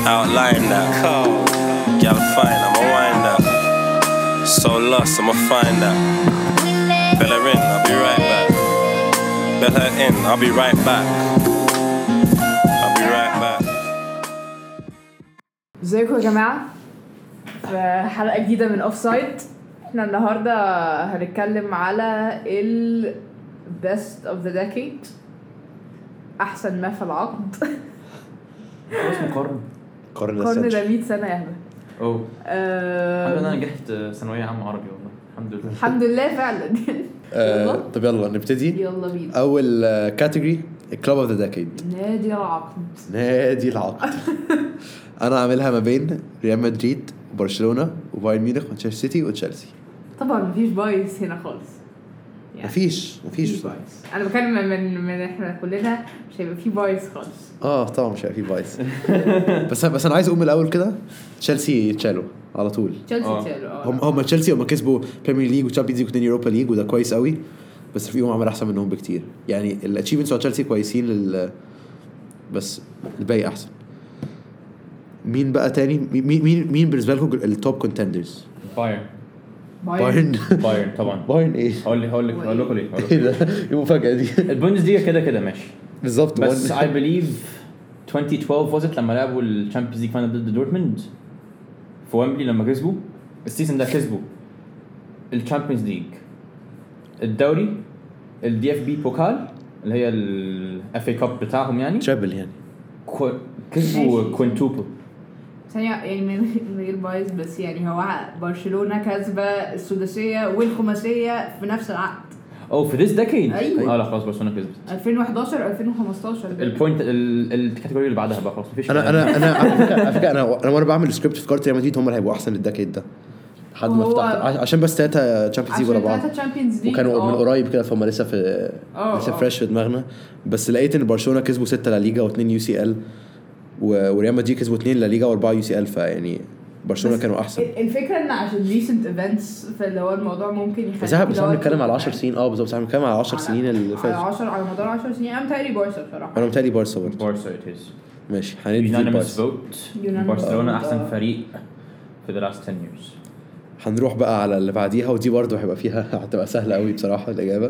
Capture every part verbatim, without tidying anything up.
Outline that. Gal fine, I'ma wind that. So lost, I'ma find that. Bella in, I'll be right back. Bella in, I'll be right back. I'll be right back. ازيكم يا جماعة؟ في حلقة جديدة من أوفسايد. احنا النهاردة هنتكلم على ال best of the decade، أحسن ما في العقد. اسمه قرن قرن قرن ده مية سنة يا هبة. اوه أه... الحمد لله انا نجحت ثانويه عامه عربي والله الحمد لله الحمد لله فعلا. آه، طب يلا نبتدي. يلا بينا. اول كاتيجوري كلوب اوف ذا ديكيد، نادي العقد. نادي العقد. انا عاملها ما بين ريال مدريد وبرشلونه وبايرن ميونخ ومانشستر سيتي وتشيلسي. طبعا مفيش بايس هنا خالص يعني مفيش مفيش بايس. انا بتكلم من من احنا كلنا مش هيبقى في بايس خالص. اه طبعا مش هيبقى في بايس. بس بس انا عايز اقوم من الاول كده. تشيلسي يتشالوا على طول. تشيلسي تشالوا. هم هم تشيلسي هم كسبوا بريمير ليج وتشامبيونز ليج وثاني يوروبا ليج وده كويس قوي، بس فيهم عمل احسن منهم بكتير. يعني الاتشيفمنتس بتاع تشيلسي كويسين لل... بس الباقي احسن. مين بقى تاني؟ مين مين مين بالنسبه لكم التوب كونتندرز؟ بايرن بايرن بايرن طبعا. بايرن ايه؟ هقول لك هقول لك هقول لكم ليه ايه ده؟ ايه المفاجاه دي؟ البوندسليغا كده كده ماشي بالظبط. بس I believe twenty twelve was it لما لعبوا الشامبيونز ليج فاينل ضد دورتموند في ويمبلي، لما كسبوا السيزون ده كسبوا الشامبيونز ليج، الدوري، الدي اف بي بوكال اللي هي الاف اي كاب بتاعهم، يعني ترابل يعني كو... كسبوا كوينتوبل. ثانية يعني من غير بايظ، بس يعني هو برشلونة كسبة السداسية والخماسية في نفس العقد. او في this decade. أيوة. اه لا خلاص برشلونة كسبت ألفين وحداشر ألفين وخمستاشر. البوينت الكاتيجوري اللي بعدها بقى خلاص مفيش. انا انا انا على فكره على فكره انا انا وانا بعمل سكريبت في كارت ريال مدريد هم اللي هيبقوا احسن الدكيد ده لحد ما فتحت، عشان بس ثلاثه تشامبيونز ليج ورا بعض وكانوا من قريب كده، فهم لسه في لسه فريش في دماغنا. بس لقيت ان برشلونه كسبوا ستة لا ليغا واثنين يو سي ال، وريال مدريد كسبوا اثنين لا ليغا واربعه يو سي ال، فيعني برشلونه كانوا احسن. الفكره ان عشان ريسنت ايفنتس فاللي هو الموضوع ممكن يخلي بس احنا بنتكلم على عشر سنين. اه بالظبط احنا بنتكلم على عشر سنين اللي فاتوا، على عشرة على مدار عشر سنين. انا متهيألي بارسا بصراحه. انا متهيألي بارسا برضه. بارسا ات از ماشي. هندي بارسا برشلونه احسن فريق في the last ten years. هنروح بقى على اللي بعديها، ودي برضه هيبقى فيها هتبقى سهله قوي بصراحه الاجابه.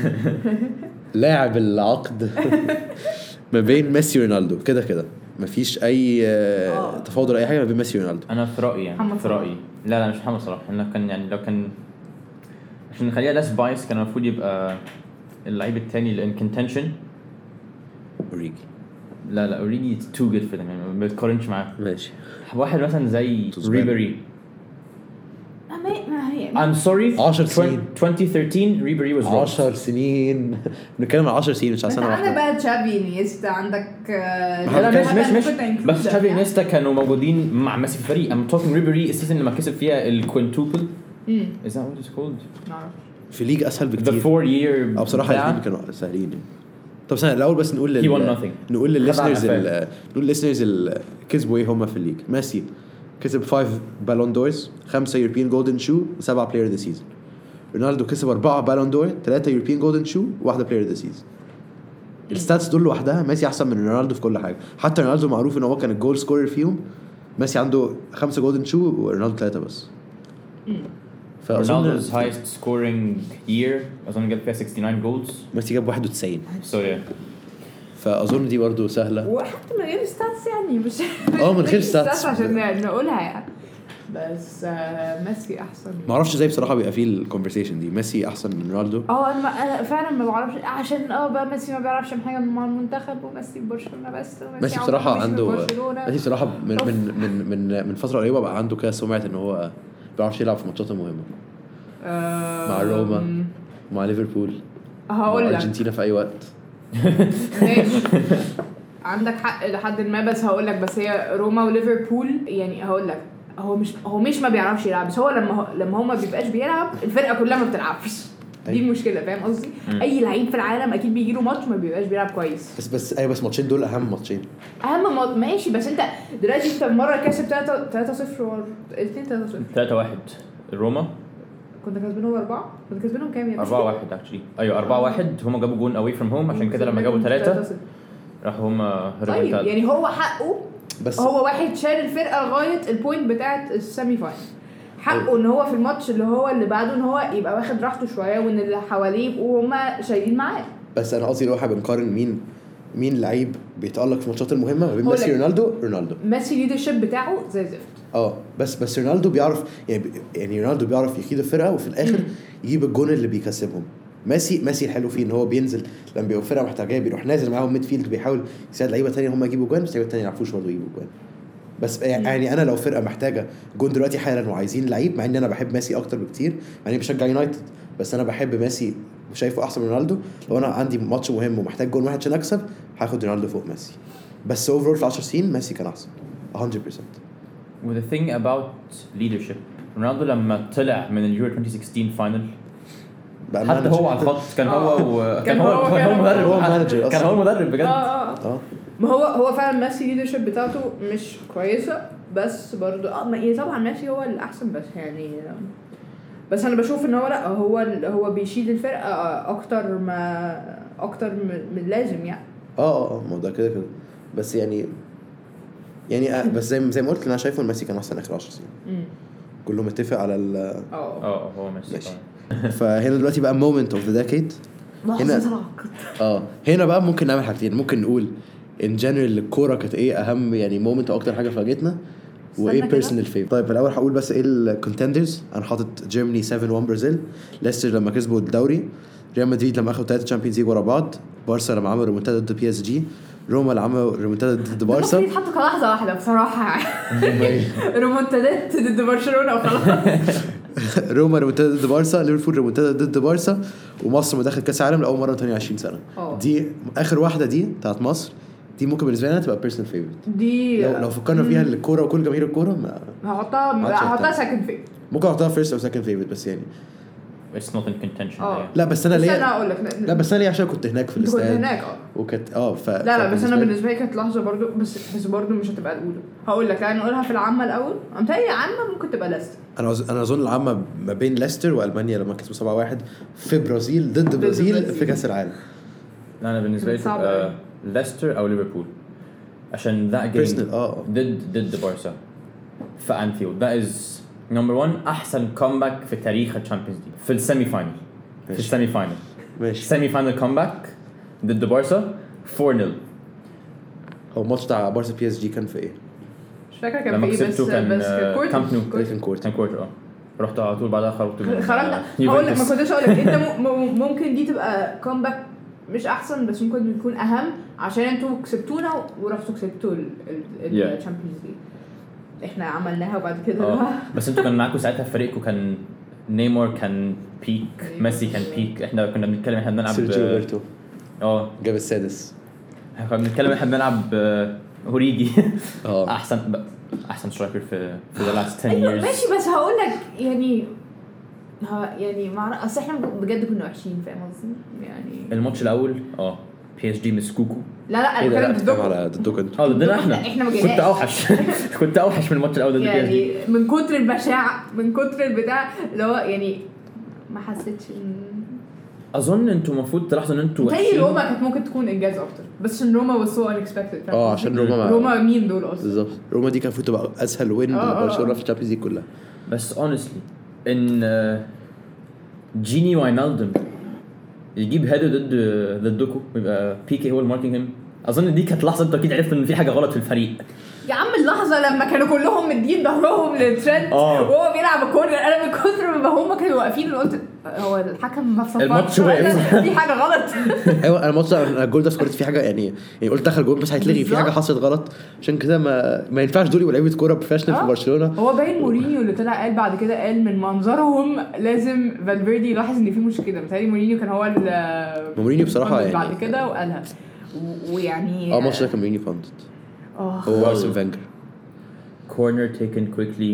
لاعب العقد ما بين ميسي ورونالدو، كده كده مفيش اي تفاضل اي حاجه ما بين ميسي ورونالدو. انا في رايي يعني في رايي لا لا مش محمد صلاح. انا كان يعني لو كان عشان نخليها لاس بايس كان المفروض يبقى اللعيب الثاني اللي ان كونتنشن اوريجي. لا لا اوريجي تو جود في ده، يعني ما بتقارنش معاه. ماشي. واحد مثلا زي ريبيري. I'm sorry. عشر سنين. twenty thirteen ريبيري was عشر سنين. بنتكلم على عشر سنين مش على سنه واحده. عندك بقى تشافي انيستا، عندك لا مش مش مش بس تشافي انيستا كانوا موجودين مع ميسي في الفريق. I'm talking ريبيري السيزون لما كسب فيها الكوينتوبل. is that what it's called؟ في ليج اسهل بكتير. the four year. او بصراحه الاثنين كانوا سهلين. طب سنة الاول بس نقول لل نقول للليسنرز نقول للليسنرز اللي كسبوا ايه هم في الليج. ميسي كسب خمسة بالون دورز، خمسة يوروبيان جولدن شو، وسبعة بلاير ذا سيزون. رونالدو كسب أربعة بالون دور، ثلاثة يوروبيان جولدن شو، واحدة بلاير ذا سيزون. الستاتس دول لوحدها ميسي احسن من رونالدو في كل حاجه. حتى رونالدو معروف ان هو كان الجول سكورر فيهم، ميسي عنده خمسة جولدن شو ورونالدو ثلاثة بس. رونالدو's highest scoring year اظن جاب فيها sixty nine goals، ميسي جاب واحد وتسعين. so yeah. فاظن دي برضو سهله، وحتى من غير ستاتس يعني مش اه من غير ستاتس عشان نقولها يعني. بس ميسي احسن. ما اعرفش ازاي بصراحه بيبقى فيه الكونفرسيشن دي ميسي احسن من رونالدو. اه انا فعلا ما بعرفش عشان اه بقى ميسي ما بيعرفش حاجه مع المنتخب، وميسي برشلونه بس. ميسي بصراحه عنده ميسي بصراحه من من من من من فتره قريبه بقى عنده كده سمعه ان هو بيعرف يلعب في ماتشات مهمه مع روما مع ليفربول هقول لك ارجنتينا في اي وقت. عندك حق لحد ما، بس هقول لك بس هي روما وليفربول يعني هقول لك هو مش هو مش ما بيعرفش يلعب، بس هو لما هو لما هو ما بيبقاش بيلعب الفرقه كلها ما بتلعبش. دي المشكله، فاهم قصدي؟ اي لعيب في العالم اكيد بيجي له ماتش ما بيبقاش بيلعب كويس. بس بس ايوه بس ماتشين دول اهم ماتشين. اهم ماتش ماشي، بس انت دلوقتي انت مره كسب ثلاثة صفر الاثنين ثلاثة صفر ثلاثة واحد الروما كنت كسبانهم أربعة كنت كسبانهم كام يا أربعة واحد اكشلي. ايوه أربعة واحد هم جابوا جون away from home، عشان كده لما جابوا ثلاثة راحوا هم طيب يعني هو حقه بس هو واحد شال الفرقه لغايه البوينت بتاعه السيمي فاينل حقه ان هو في الماتش اللي هو اللي بعده ان هو يبقى واخد راحته شويه وان اللي حواليه يبقوا هما شايلين معاه. بس انا قصدي لو احنا بنقارن مين مين لعيب بيتألق في الماتشات المهمه ما بين ميسي رونالدو رونالدو ميسي ليدرشيب بتاعه زي زفت. اه بس بس رونالدو بيعرف يعني يعني رونالدو بيعرف يقيد الفرقه وفي الاخر يجيب الجون اللي بيكسبهم. ميسي ميسي الحلو فيه ان هو بينزل لما بيبقى الفرقه محتاجاه بيروح نازل معاهم ميد فيلد بيحاول يساعد لعيبه ثانيه هم يجيبوا جوان بس لعيبه ثانيه ما يعرفوش برضه يجيبوا جوان. بس يعني انا لو فرقه محتاجه جون دلوقتي حالا وعايزين لعيب مع ان انا بحب ميسي اكتر بكتير مع اني بشجع يونايتد بس انا بحب ميسي وشايفه احسن من رونالدو. لو انا عندي ماتش مهم ومحتاج جون واحد عشان اكسب هاخد رونالدو فوق ميسي. بس اوفرول في عشر سنين ميسي كان احسن مية بالمية. With the thing about leadership رونالدو لما طلع من اليورو twenty sixteen فاينل حتى هو على الخط كان هو وكان هو كان هو مدرب هو مانجر كان هو مدرب بجد. اه اه ما هو هو فعلا ميسي ليدرشيب بتاعته مش كويسه بس برضو اه يعني طبعا ميسي هو الاحسن بس يعني بس انا بشوف ان هو لا هو هو بيشيل الفرقه اكتر ما اكتر من اللازم يعني. اه اه ما ده كده كده بس يعني يعني آه بس زي زي ما قلت انا شايفه ميسي كان احسن اخر عشر سنين كله متفق على ال اه اه هو ميسي. فهنا دلوقتي بقى moment of the decade هنا اه هنا بقى ممكن نعمل حاجتين. ممكن نقول ان جنرال الكوره كانت ايه اهم يعني مومنت او اكتر حاجه فاجئتنا وايه بيرسونال فيف. طيب الاول هقول بس ايه الكونتندرز. انا حاطط جيرماني سبعة واحد برازيل ليستر لما كسبوا الدوري ريال مدريد لما اخذوا ثلاثه تشامبيونز ليج ورا بعض بارسا لما عملوا ريمونتادا ضد بي اس جي روما اللي عملوا ريمونتادا ضد بارسا. يتحطوا كلحظه واحده بصراحه ريمونتادات ضد برشلونه وخلاص. روما ريمونتادا ضد بارسا ليفربول ريمونتادا ضد بارسا ومصر ما دخلت كاس العالم لاول مره ثمانية وعشرين سنه. أوه. دي اخر واحده دي بتاعت مصر دي ممكن بالنسبه لنا تبقى بيرسونال فيفورت دي لو لو فكرنا فيها الكوره وكل جماهير الكوره ما هحطها هحطها سكند فيفورت. ممكن احطها فيرست او سكند فيفورت بس يعني it's not in contention. لا بس انا ليه انا اقول لك لا بس انا ليه عشان كنت هناك في الاستاد كنت هناك اه وكنت اه ف لا لا بس انا بالنسبه لي كانت لحظه برضو بس بس برضو مش هتبقى الاولى. هقول لك يعني نقولها في العامه الاول امتى عامه ممكن تبقى ليستر. انا انا اظن العامه ما بين ليستر والمانيا لما كسبوا سبعة واحد في برازيل ضد برازيل في كاس العالم. لا انا بالنسبه لي تبقى ليستر او ليفربول عشان ذا جيم اه ضد ضد بارسا في انفيلد. ده از نمبر واحد احسن كومباك في تاريخ الشامبيونز ليج في السيمي فاينل. في السيمي فاينل ماشي سيمي فاينل كومباك ضد بارسا four nil. هو الماتش بتاع بارسا بي اس جي كان في ايه؟ مش فاكره كان في ايه بس كان بس كان كورت كان كورت كان كورت اه رحت على طول بعدها خرجت من خرجنا. هقول لك ما كنتش اقول لك انت ممكن دي تبقى كومباك مش احسن بس ممكن يكون اهم عشان انتوا كسبتونا ورحتوا كسبتوا الشامبيونز ليج احنا عملناها وبعد كده اه بس انتوا كان معاكم ساعتها فريقكم كان نيمار كان بيك ميسي كان بيك. احنا كنا بنتكلم احنا بنلعب سيرجيو روبرتو اه جاب السادس. احنا كنا بنتكلم احنا بنلعب هوريجي اه احسن احسن سترايكر في في the last ten years. ماشي بس هقول لك يعني ها يعني مع اصل احنا بجد كنا وحشين فاهم قصدي يعني. الماتش الاول اه بي اس جي مسكوكو. لا لا انا بتكلم ضدكم على ضدكم انتوا اه ضدنا احنا. احنا ما كنت اوحش كنت اوحش من الماتش الاول ضد بي اس جي يعني من كتر البشاعه من كتر البتاع اللي هو يعني ما حسيتش ان اظن انتوا المفروض تلاحظوا ان انتوا وحشين. روما كانت ممكن تكون انجاز اكتر بس ان روما was so unexpected. اه عشان روما روما مين دول اصلا بالظبط. روما دي كانت المفروض تبقى اسهل وين لبرشلونه في الشامبيونز ليج كلها. بس honestly ان جيني واينالدوم يجيب هيدر ضد ضدكم ويبقى بيكي هو الماركينج هيم. اظن دي كانت لحظه انتوا اكيد عرفتوا ان في حاجه غلط في الفريق. يا عم اللحظه لما كانوا كلهم مدين ظهرهم للترند وهو بيلعب الكورنر انا من كتر ما هم كانوا واقفين قلت هو الحكم ما صفرش الماتش واقف في حاجه غلط. ايوه انا الماتش الجول ده سكورت في حاجه يعني يعني قلت دخل جول بس هيتلغي في حاجه حصلت غلط عشان كده ما ما ينفعش دول يبقوا لعيبه كوره بروفيشنال في برشلونه. هو باين مورينيو اللي طلع قال بعد كده قال من منظرهم لازم فالفيردي يلاحظ ان في مشكله. مثلا مورينيو كان هو مورينيو بصراحه يعني بعد كده وقالها ويعني اه الماتش ده كان مورينيو فاندت اه هو ارسن فينجر corner taken quickly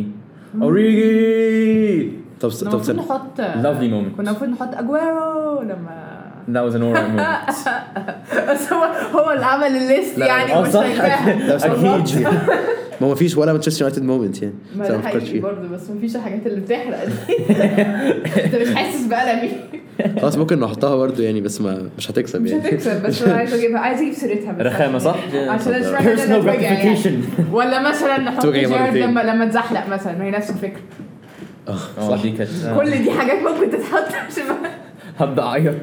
اوريجي. طب طب كنا نحط lovely moment كنا المفروض نحط اجويرو لما that was an alright moment. بس هو هو اللي عمل الليست يعني مش اكيد ما فيش ولا مانشستر يونايتد مومنت يعني ما ده حقيقي برضه بس ما فيش الحاجات اللي بتحرق دي. انت مش حاسس بألمي. خلاص ممكن نحطها برضه يعني بس ما مش هتكسب مش يعني هتكسب بس انا عايز اجيبها عايز اجيب سيرتها بس رخامه صح عشان اشرح personal gratification ولا مثلا نحط توجع جيرد مرتين. لما لما اتزحلق مثلا ما هي نفس الفكره. اه دي كانت كل دي حاجات ممكن تتحط عشان هبدا اعيط.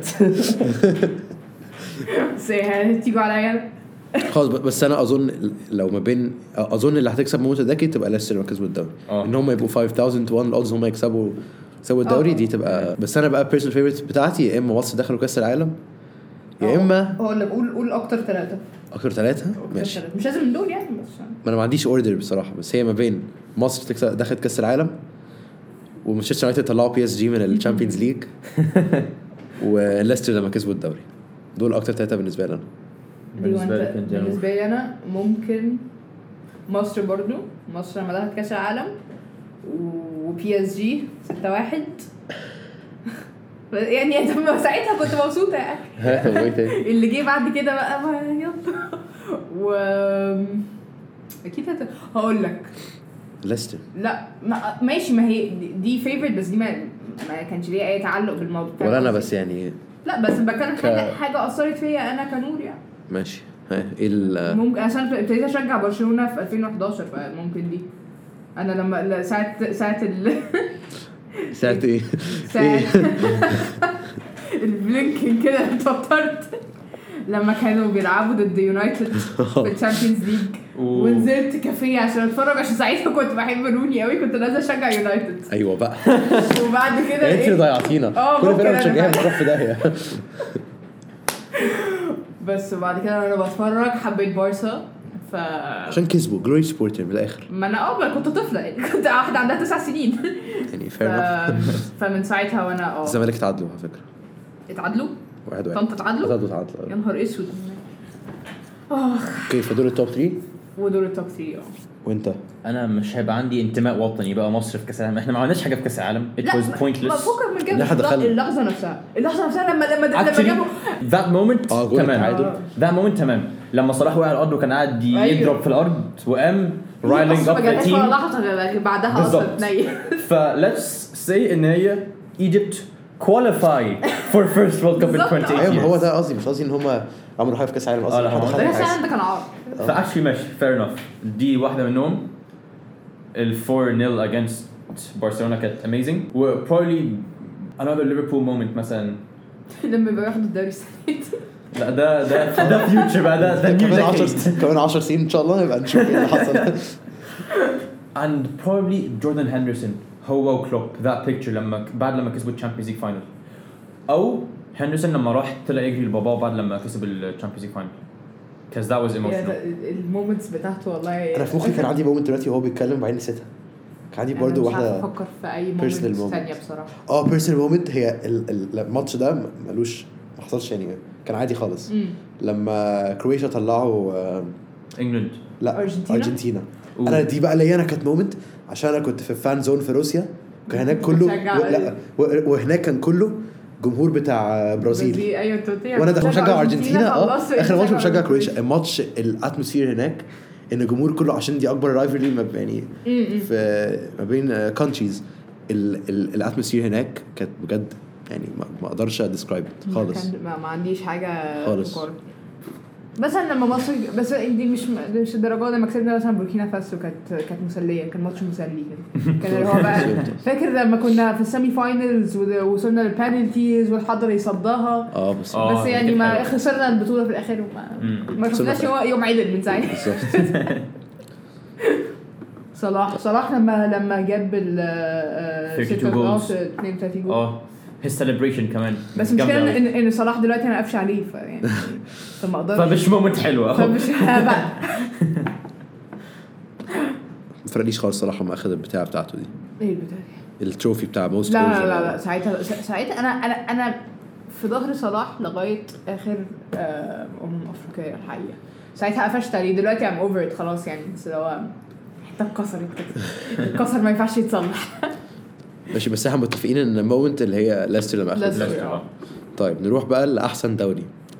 بس هتيجوا عليا. خلاص بس انا اظن لو ما بين اظن اللي هتكسب موت ده تبقى ليستر لو كسبوا الدوري آه. ان هم يبقوا خمسة آلاف وواحد الاودز هم يكسبوا يكسبوا الدوري آه. دي تبقى. بس انا بقى بيرسونال فيفورت بتاعتي يا اما مصر دخلوا كاس العالم يا اما هو اللي بقول قول اكتر ثلاثه اخر ثلاثه ماشي. مش لازم من دول يعني بس ما انا ما عنديش اوردر بصراحه بس هي ما بين مصر تكسب دخلت كاس العالم ومانشستر يونايتد طلعوا بي اس جي من الشامبيونز ليج وليستر لما كسبوا الدوري. دول اكتر ثلاثه بالنسبه لي انا. بالنسبه لك انت بالنسبه لي انا ممكن مصر برضو مصر لما دخلت كاس العالم وبي اس جي ستة واحد يعني انت ساعتها كنت مبسوطه يعني. اللي جه بعد كده بقى ما يلا و اكيد هت... هقول لك ليستر لا ما... ماشي ما هي دي فيفورت بس دي ما ما كانش ليها اي تعلق بالموضوع ولا انا بس يعني لا بس بتكلم ك... حاجه حاجه اثرت فيا انا كنور يعني ماشي. ها ايه ال ممكن عشان ابتديت اشجع برشلونه في ألفين وحداشر فممكن دي انا لما ساعه ساعه ال ساعه ايه ساعه البلينكين كده اتوترت لما كانوا بيلعبوا ضد يونايتد في الشامبيونز ليج ونزلت كافيه عشان اتفرج عشان ساعتها كنت بحب روني قوي كنت نازله اشجع يونايتد. ايوه بقى وبعد كده انت ضيعتينا كل فرقه بتشجعها بتروح في داهيه. بس وبعد كده انا بتفرج حبيت بارسا ف عشان كسبوا جلوري سبورتر من الاخر. ما انا اه كنت طفله يعني كنت واحده عندها تسع سنين يعني ف... فير فمن ساعتها وانا اه الزمالك تعادلوا على فكره اتعادلوا واحد واحد طنطا اتعادلوا تعادلوا تعادلوا يا نهار اسود. اه اوكي فدول التوب ثلاثة ودول التوب ثلاثة اه وانت انا مش هيبقى عندي انتماء وطني بقى مصر في كاس العالم. احنا ما عملناش حاجه في كاس العالم it was pointless. ما فكر من كده احنا دخلنا اللحظه نفسها اللحظه نفسها لما لما لما جابوا that moment اه جول تمام التعادل that moment تمام لما صلاح وقع على الارض وكان قاعد يضرب في الارض وقام رايلينج اب ذا تيم لحظه بعدها اصلا تنيل. ف let's say ان هي Egypt qualify for first World Cup in twenty-eight ايوه years. هو ده قصدي مش قصدي ان هم عملوا حاجه في كاس العالم اه اصلا. لا، هو ده كان عندك كان عار فاكشلي ماشي fair enough. دي واحده منهم ال four nil against برشلونه كانت amazing و probably another Liverpool moment مثلا لما بياخدوا الدوري السنه دي. لا ده ده ده future بقى ده ده new كمان عشرة decade. كمان عشر سنين ان شاء الله نبقى نشوف ايه اللي حصل. and probably Jordan Henderson هو وكلوب that picture لما بعد لما كسبوا الشامبيونز ليج فاينل او هندرسون لما راح طلع يجري لباباه بعد لما كسب الشامبيونز ليج فاينل because that was emotional. المومنتس بتاعته والله انا في مخي كان عندي مومنت دلوقتي وهو بيتكلم بعدين نسيتها. كان عندي برضو واحده بفكر في اي مومنت ثانيه بصراحه. اه بيرسونال مومنت هي الماتش ده ملوش ما حصلش يعني كان عادي خالص. مم. لما كرواتيا طلعوا انجلند لا أرجنتينا, أرجنتينا. انا دي بقى اللي انا كانت مومنت عشان انا كنت في فان زون في روسيا كان هناك كله و... لا و... وهناك كان كله جمهور بتاع برازيل ايوه وانا داخل بشجع ارجنتينا اه اخر ماتش بشجع كرواتيا. الماتش الاتموسفير هناك ان الجمهور كله عشان دي اكبر رايفلري ما يعني في ما بين كونتريز الاتموسفير هناك كانت بجد يعني ما اقدرش اديسكرايب خالص. ما عنديش حاجه خالص. بس لما مصر بس دي مش مش الدرجه لما كسبنا مثلا بوركينا فاسو كانت كانت مسليه كان ماتش مسلي كده كان اللي هو بقى فاكر لما كنا في السيمي فاينلز ووصلنا للبنالتيز والحضر يصدها اه بس آه بس يعني ما خسرنا البطوله في الاخر وما ما شفناش يوم عيد من ساعتها. صلاح صلاح لما لما جاب ال اتنين وثلاثين جول اه his celebration كمان بس مشكلة ان ان صلاح دلوقتي انا قافش عليه فيعني فما اقدرش فمش مومنت حلوه فمش بقى فرقليش خالص صراحه ما اخذ البتاع بتاعته دي ايه البتاع التروفي بتاع موست لا لا لا, لا ساعتها ساعتها انا انا انا في ظهر صلاح لغايه اخر امم افريقيا الحقيقه ساعتها قفشت عليه. دلوقتي ام اوفر ات خلاص يعني بس هو حتى اتكسرت كده الكسر ما ينفعش يتصلح. ماشي بس احنا متفقين ان المومنت اللي هي ليستر لما اخذ. ليستر. طيب نروح بقى لاحسن دوري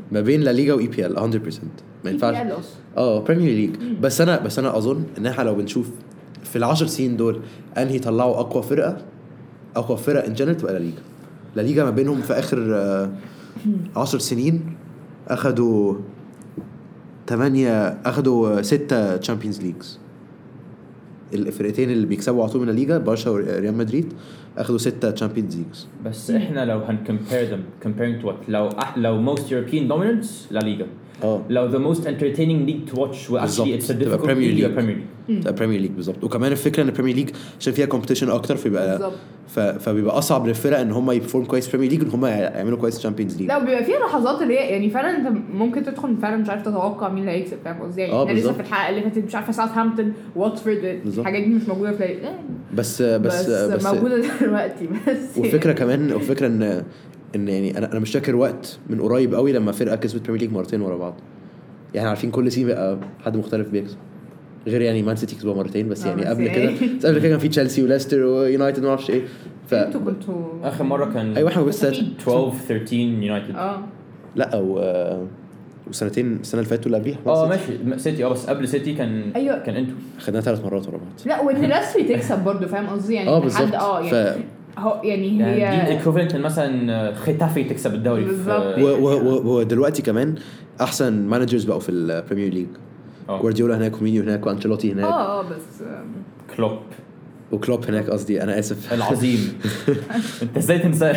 ما بين لا ليغا واي بي ال مية بالمية ما ينفعش اه بريمير ليج. بس انا بس انا اظن ان احنا لو بنشوف في العشر سنين دول انهي يطلعوا اقوى فرقه اقوى فرقه ان جنرال تبقى لا ليغا. لا ليغا ما بينهم في اخر آه عشر سنين اخدوا ثمانية اخدوا ستة تشامبيونز ليجز. الفرقتين اللي بيكسبوا على طول من الليغا برشا وريال مدريد اخدوا ستة تشامبيونز ليجز. بس احنا لو هنكمبير them comparing to what لو لو most European dominance لا ليغا اه لو the most entertaining league to watch well actually it's a difficult Premier league League. Premier League ده بريمير ليج بالظبط. وكمان الفكره ان البريمير ليج عشان فيها كومبيتيشن اكتر فبيبقى ف... فبيبقى اصعب للفرق ان هم يبرفورم كويس بريمير ليج ان هم يعملوا كويس تشامبيونز ليج. لا بيبقى فيها لحظات اللي هي يعني فعلا انت ممكن تدخل فعلا مش عارف تتوقع مين اللي هيكسب فاهم قصدي يعني. آه لسه في الحلقه اللي فاتت مش عارفه ساوثهامبتون واتفورد الحاجات دي مش موجوده في لا. بس بس بس, بس موجوده دلوقتي بس. والفكره كمان والفكره ان ان يعني انا انا مش فاكر وقت من قريب قوي لما فرقه كسبت بريمير ليج مرتين ورا بعض. يعني عارفين كل سيزون بقى حد مختلف بيكسب غير يعني مان سيتي كسبوا مرتين بس يعني قبل كده قبل كده كان في تشيلسي وليستر ويونايتد ما اعرفش ايه. ف انتوا كنتوا اخر مره كان ايوه احنا بس twelve thirteen يونايتد اه لا او وسنتين السنه اللي فاتت ولا قبليها اه ماشي سيتي اه بس قبل سيتي كان أيوة. كان انتوا خدناها ثلاث مرات ورا بعض. لا وان لاسري تكسب برضو فاهم قصدي يعني اه بالظبط اه يعني ف... هو يعني هي يعني دي الايكوفالنت مثلا ختافي تكسب الدوري ودلوقتي كمان احسن مانجرز بقوا في البريمير ليج. جوارديولا هناك ومينيو هناك وانشيلوتي هناك اه اه بس كلوب وكلوب هناك قصدي انا اسف العظيم انت ازاي تنساه.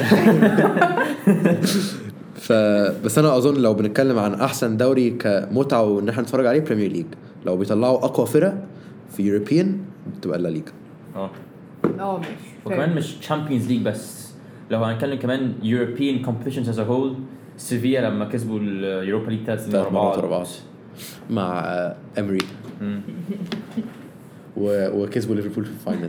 فبس انا اظن لو بنتكلم عن احسن دوري كمتعه وان احنا نتفرج عليه بريمير ليج. لو بيطلعوا اقوى فرق في يوروبيان بتبقى لا ليغا. اه اه ماشي وكمان مش تشامبيونز ليج بس لو هنتكلم كمان European competitions as a whole سيفيا لما كسبوا اليوروبا ليج ثلاث سنين ورا بعض مع امري وكسبوا ليفربول في الفاينل.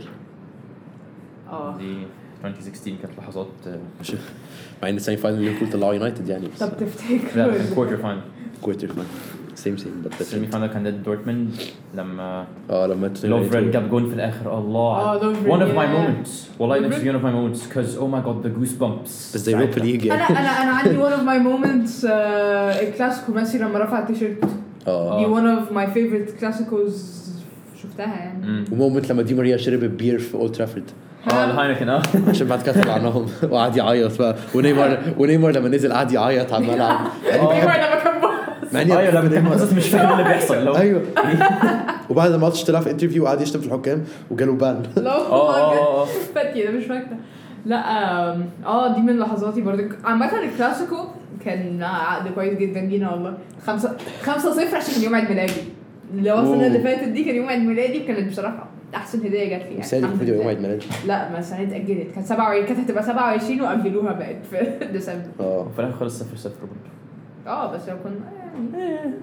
اه دي twenty sixteen كانت لحظات مع ان السيمي فاينل ليفربول طلعوا يونايتد يعني. طب تفتكر لا كوارتر فاينل كوارتر فاينل سيم سيم بس السيمي فاينل كان ضد دورتموند لما اه لما لوفرن جاب جون في الاخر الله one of my moments والله نفسي one of my moments because oh my god the goosebumps. بس زي يوروبا ليج انا انا انا عندي one of my moments الكلاسيكو ميسي لما رفع التيشيرت اه دي one of my favorite كلاسيكوز شفتها يعني. ومومنت لما دي ماريا شرب البير في اولد ترافورد اه الهاينكن اه عشان بعد كده طلعناهم وقعد يعيط بقى ونيمار ونيمار لما نزل قعد يعيط على الملعب. نيمار لما كان باص ايوه لما كان باص مش فاهم اللي بيحصل. ايوه وبعد الماتش طلع في انترفيو وقعد يشتم في الحكام وجاله بان. اه اه فاتي انا مش فاكره. لا اه دي من لحظاتي برضه عامه الكلاسيكو كان عقد كويس جدا لينا والله. خمسة خمسة صفر عشان كان يوم عيد ميلادي. لو السنه اللي فاتت دي كان يوم عيد ميلادي كانت بصراحه احسن هديه جت لي يعني. الحمد لله يوم عيد ميلادي لا ما السنه دي اتاجلت كانت سبعة وعشرين كانت هتبقى سبعة وعشرين واجلوها بقت في ديسمبر. اه في الاخر خلص صفر صفر برضه. اه بس لو كنا يعني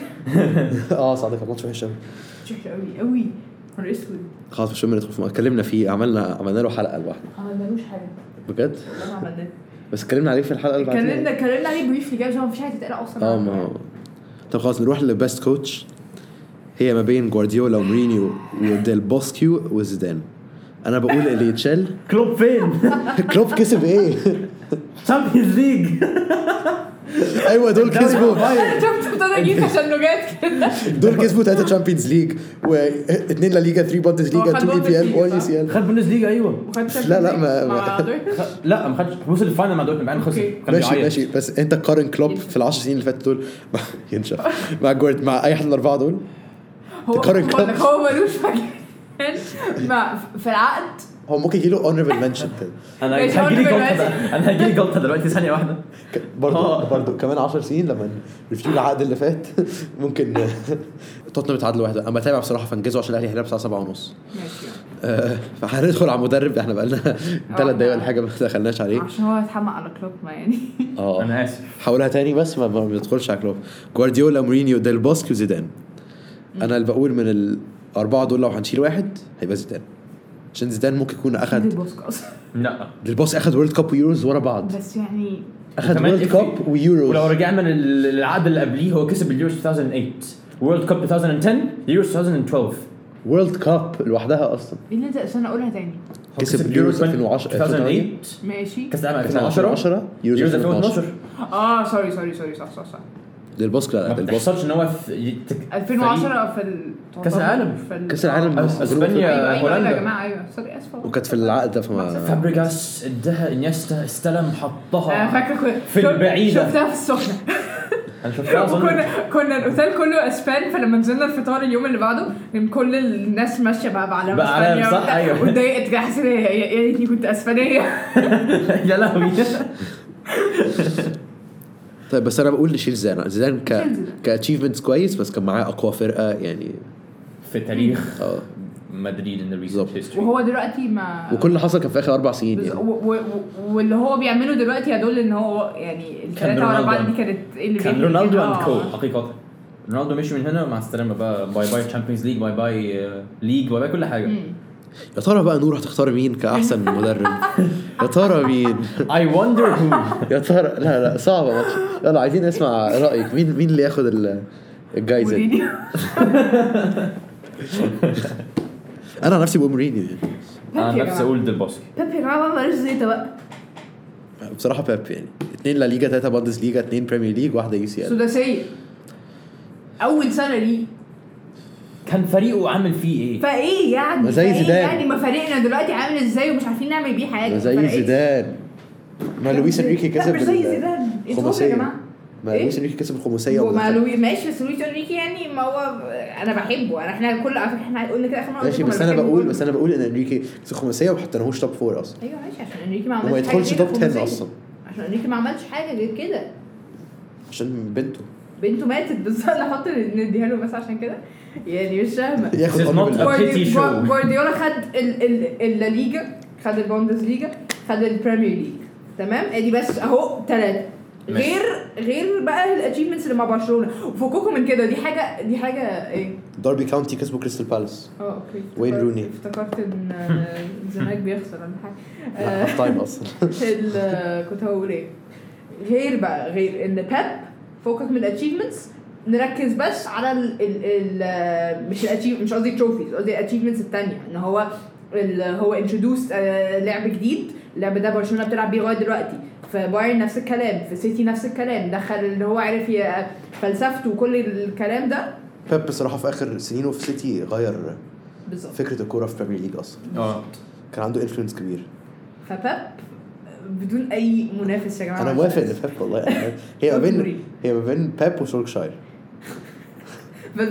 اه صعد كان ماتش وحش قوي وحش قوي قوي نهار اسود. خلاص مش ندخل في اتكلمنا فيه عملنا عملنا له حلقه لوحده. ما عملناش حاجه بجد والله ما عملنا. بس اتكلمنا عليه في الحلقه اللي بعدها. اتكلمنا اتكلمنا عليه بريفلي كده عشان مفيش حاجه تتقال اصلا. اه ما طب خلاص نروح للبيست كوتش. هي ما بين جوارديولا ومورينيو وديل بوسكيو وزيدان. انا بقول اللي يتشال كلوب فين؟ كلوب كسب ايه؟ تشامبيونز ليج. ايوه دول كسبوا شفت ابتدى اجيب عشان نوجات كده. دول كسبوا ثلاثه تشامبيونز ليج واثنين لا ليغا ثلاثة بوندس ليغا اثنين اي بي ال واحد سي ال. خد بوندس ليغا ايوه. لا لا ما لا ما خدش وصل الفاينل مع دورتموند بعدين خسر. ماشي ماشي بس انت قارن كلوب في العشر سنين اللي فاتت دول ينشف مع جورد مع اي حد من الاربعه دول. هو هو ملوش مكان مع في العقد. هو ممكن يجي له honorable mention. انا هجيلي جلطه انا هجيلي جلطه دلوقتي ثانيه واحده برضه برضه كمان عشر سنين لما ريفيو العقد اللي فات ممكن توتنهام يتعادلوا واحده. اما تابع بصراحه فانجزوا عشان الاهلي هيلعب الساعه سبعة ونص ماشي. فهندخل على المدرب احنا بقى لنا ثلاث دقايق ولا حاجه ما دخلناش عليه عشان هو يتحمق على كلوب ما يعني. اه انا اسف حاولها تاني بس ما بندخلش على كلوب. جوارديولا مورينيو ديل بوسكي وزيدان. انا اللي بقول من الاربعه دول لو هنشيل واحد هيبقى زيدان عشان زيدان ممكن يكون اخد لا البوس اخد وورلد كاب ويوروز ورا بعض بس يعني اخد وورلد كاب ويوروز. ولو رجعنا للعقد اللي قبليه هو كسب اليوروز two thousand eight وورلد كاب twenty ten يوروز twenty twelve وورلد كاب لوحدها اصلا. ايه اللي انت عشان اقولها تاني كسب اليوروز ألفين وعشرة two thousand eight ماشي كاس العالم ألفين وعشرة يوروز ألفين واثناشر اه سوري سوري سوري صح صح صح ديل بوسك لا ما ديل بوسك بتحصلش ان هو في ألفين وعشرة في ال- كأس العالم. في ال- كأس العالم آه. بس. اسبانيا ايوه ايوه هولندا يا جماعه ايوه سوري اسفه وكانت في العقد ده فما فابريجاس ادها انيستا استلم حطها انا فاكره كنت- في البعيدة. شفتها في السخنه انا شفتها اظن كنا كنا الاوتيل كله اسبان فلما نزلنا الفطار اليوم اللي بعده كان كل الناس ماشيه بقى بعلم بقى علم، اسبانيا صح، أيوة. واتضايقت كده حسيت يا يا ريتني كنت اسبانيه يا لهوي. طيب بس انا بقول نشيل زيدان زيدان ك نشيل زيدان. كاتشيفمنتس كويس بس كان معاه اقوى فرقه يعني في تاريخ اه مدريد in the recent بالظبط. history. وهو دلوقتي ما وكل اللي حصل كان في اخر اربع سنين بز- يعني و- و- و- واللي هو بيعمله دلوقتي يدل ان هو يعني الثلاثه ورا رونالدو. بعض دي كانت اللي كان بين- رونالدو آه. اند كو حقيقة. رونالدو مشي من هنا مع السلامة بقى باي باي تشامبيونز ليج باي باي ليج باي باي كل حاجة. مم. يا ترى بقى نور هتختار مين كاحسن مدرب يا ترى مين I wonder who. يا ترى لا لا صعبه ماتش يلا عايزين نسمع رايك مين مين اللي ياخد ال- الجايزه دي مورينيو. انا عن نفسي بقول مورينيو يعني. انا يا نفسي جماعة. اقول ديل بوسكي. بيب يا جماعه ما بلاش زيطه بقى بصراحه بيب يعني اثنين لا ليجا ثلاثه باندس ليجا اثنين بريمير ليج واحده يو سي ال سداسيه اول سنه ليه كان فريقه عامل فيه ايه؟ فايه يعني ما زي فإيه زيدان. يعني ما فريقنا دلوقتي عامل ازاي ومش عارفين نعمل بيه حاجه زي فرقش. زيدان ما لويس انريكي لا كسب مش زي ال- زيدان انتوا يا الخماسيه جماعه ما إيه؟ لويس انريكي كسب الخماسيه هو مع ودخل. لوي ماشي بس لويس انريكي يعني ما هو انا بحبه انا احنا كل على فكره احنا قلنا كده اخر مره ماشي قلت بس لكم انا بحب بقول كله. بس انا بقول ان انريكي كسب الخماسيه وما حطيناهوش توب فور اصلا ايوه ماشي عشان انريكي ما عملش وما حاجة يدخلش غير توب الخماسية. عشرة اصلا عشان انريكي ما عملش حاجه غير كده عشان بنته بنته ماتت بس انا احط نديها له بس عشان كده يعني مش فاهمه ياخد This is honorable not a mention. جواردي- pity show. جوارديولا خد ال- ال- الليجا خد البوندس ليجا خد البريمير ليج تمام ادي بس اهو ثلاثه ماشي. غير غير بقى الاتشيفمنتس اللي مع برشلونه وفكوكم من كده دي حاجه دي حاجه ايه داربي كاونتي كسبوا كريستال بالاس اه اوكي وين افتكرت- روني؟ افتكرت ان آه، الزمالك بيخسر ولا حاجه آه، هاف تايم اصلا ال- كنت هقول ايه غير بقى غير ان بيب فوكس من الاتشيفمنتس نركز بس على ال ال ال مش الاتشيف مش قصدي تروفيز قصدي الاتشيفمنتس الثانيه ان هو ال هو انترودوس لعب جديد اللعب ده برشلونه بتلعب بيه لغايه دلوقتي في بايرن نفس الكلام في سيتي نفس الكلام دخل اللي هو عارف ي- فلسفته وكل الكلام ده بيب بصراحه في اخر سنينه في سيتي غير بالظبط فكره الكوره في بريمير ليج اصلا اه كان عنده انفلونس كبير فبيب بدون اي منافس يا جماعه انا موافق ان بيب والله هي ما بين هي ما بين بيب وسولكشاير بس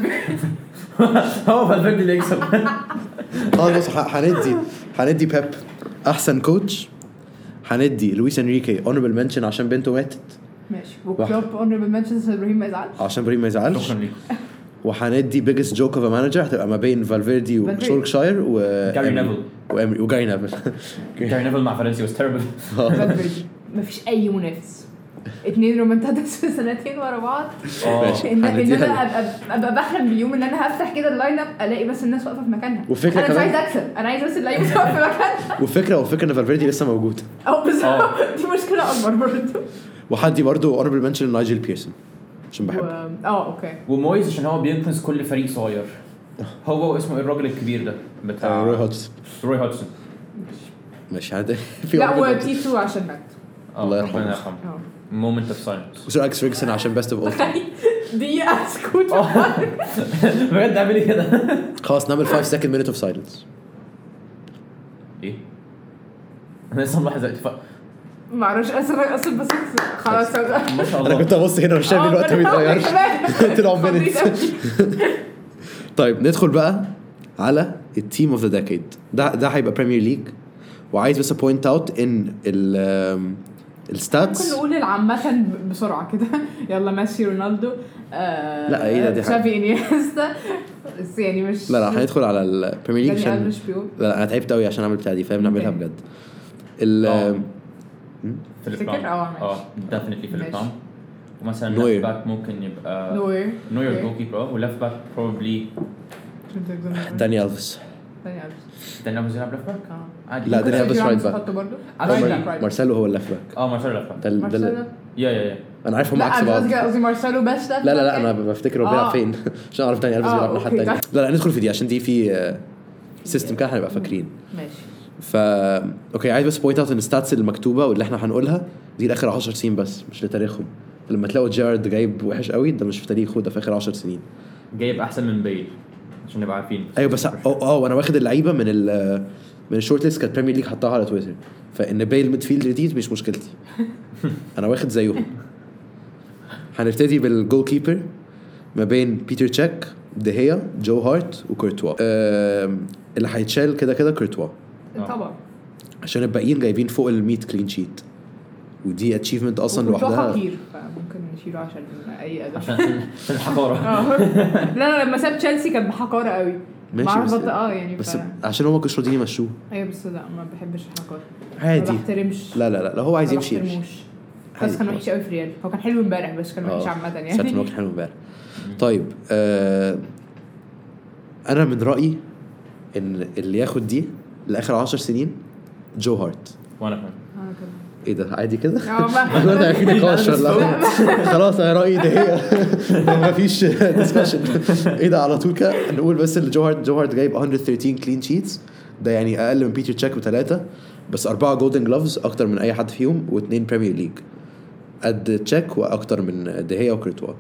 هو فالفيردي اللي يكسب. خلاص بص ح- هندي هندي بيب احسن كوتش هندي لويس انريكي اونربل منشن عشان بنته ماتت ماشي وكلوب اونربل منشنز ابراهيم ما يزعلش عشان بريم ما يزعلش شكرا ليك. وهندي بيجست جوك اوف مانجر هتبقى ما بين فالفيردي فالفيردي. وسولكشاير و جاري نيفل. وامري وجاري نيفل جاري نيفل مع فرنسي was terrible. فالفيردي مفيش اي منافس اتنين رومنتادس في سنتين ورا بعض اه ماشي. ان ان هنديها انا له. ابقى ابقى بحلم باليوم ان انا هفتح كده اللاين اب الاقي بس الناس واقفه في مكانها والفكرة انا مش كمان- عايز اكسب انا عايز بس اللعيبه تقف في مكانها والفكره والفكره ان فالفيردي لسه موجود او بالظبط اه. دي مشكله اكبر برضه وحدي برضو اونربل منشن نايجل بيرسون عشان بحبه اه اوكي ومويز عشان هو بينقذ كل فريق صغير. هو اسمه ايه الراجل الكبير ده بتاع روي هودسون روي هودسون. ماشي هذا في لا honorable mention. وتيتو عشان مات اه الله ربنا يرحمه. يرحمه. اه مومنت اوف سايلنس. وسير اكس فيرجسون عشان بيست اوف اول دي اسكوت بجد اعملي كده. خلاص نعمل خمسة سكند مينت اوف سايلنس ايه؟ انا لسه ملاحظ دلوقتي ف- ما اعرفش اسف اسف بس خلاص ما شاء انا الله. كنت ابص هنا مش شايف الوقت ما بيتغيرش طلعوا مينت طيب ندخل بقى على التيم اوف ذا ديكيد ده ده هيبقى بريمير ليج وعايز بس بوينت اوت ان ال ممكن الستاتس نقول العامة بسرعة كده يلا ميسي رونالدو آه لا، ايه ده؟ دي حاجة. تشافي انيستا بس يعني مش لا لا هندخل على البريمير ليج داني عشان ألفيش بيقول لا لا انا تعبت قوي عشان اعمل بتاع دي فاهم نعملها اوكي. بجد ال آه. فيليب تفتكر؟ لام. اه، ماشي. اه ديفينتلي فيليب ماشي. لام. ومثلا نوير. ليفت باك ممكن يبقى نوير نوير اوكي. جول كيبر وليفت باك بروبلي داني الفيس داني ألفيش داني ألفيس يلعب ليفت باك اه عادي. لا، ممكن داني ألفيس سيرجيو رايت راموس باك. نحطه برضه عادي. رايت مار- باك، رايت مارسيلو هو الليفت باك اه مارسيلو ليفت باك ده ال- ده ال- مارسيلو يا يا يا انا عارف هم لا عكس انا بعض قصدي قصدي مارسيلو بس ده لا لا لا انا بفتكر هو بيلعب آه. فين عشان اعرف داني الفيس آه، بيلعب الناحيه أوكي. الثانيه لا لا ندخل في دي عشان دي في سيستم كده هنبقى فاكرين ماشي فا اوكي عايز بس بوينت اوت ان الستاتس اللي مكتوبه واللي احنا هنقولها دي لاخر عشر سنين بس مش لتاريخهم لما تلاقوا جيرارد جايب وحش قوي ده مش في تاريخه ده في اخر عشر سنين جايب احسن من بيل عشان نبقى عارفين ايوه بس اه اه وانا واخد اللعيبه من ال من الشورت ليست كانت بريمير ليج حطها على تويتر فان بيل ميدفيلد جديد مش مشكلتي انا واخد زيهم. هنبتدي بالجول كيبر ما بين بيتر تشيك دهيا جو هارت وكورتوا. اللي هيتشال كده كده كورتوا طبعا عشان الباقيين جايبين فوق ال مية كلين شيت ودي اتشيفمنت اصلا لوحدها كتير فممكن نشيله عشان اي اداء عشان الحقاره. لا لا لما ساب تشيلسي كان بحقاره قوي ماشي بس اه يعني بس ف... عشان هو كانش راضيين يمشوه. ايوه بس لا ما بحبش الحقاره عادي ما بحترمش. لا لا لا لو هو عايز يمشي يمشي بس كان وحش قوي في ريال. هو كان حلو امبارح بس كان وحش عامه يعني ساعة ما كان حلو امبارح. طيب آه انا من رايي ان اللي ياخد دي لاخر عشر سنين جو هارت. وانا كمان ايه ده عادي كده اه ما ده في نقاش ولا خلاص انا رايي ده هي ما فيش ديسكشن. ايه ده على طول كده نقول بس اللي جو هارت جو هارت جايب مية وتلتاشر كلين شيتس ده يعني اقل من بيتر تشيك بثلاثه بس اربعه جولدن جلوفز اكتر من اي حد فيهم واثنين بريمير ليج قد تشيك واكتر من دهيا وكورتوا.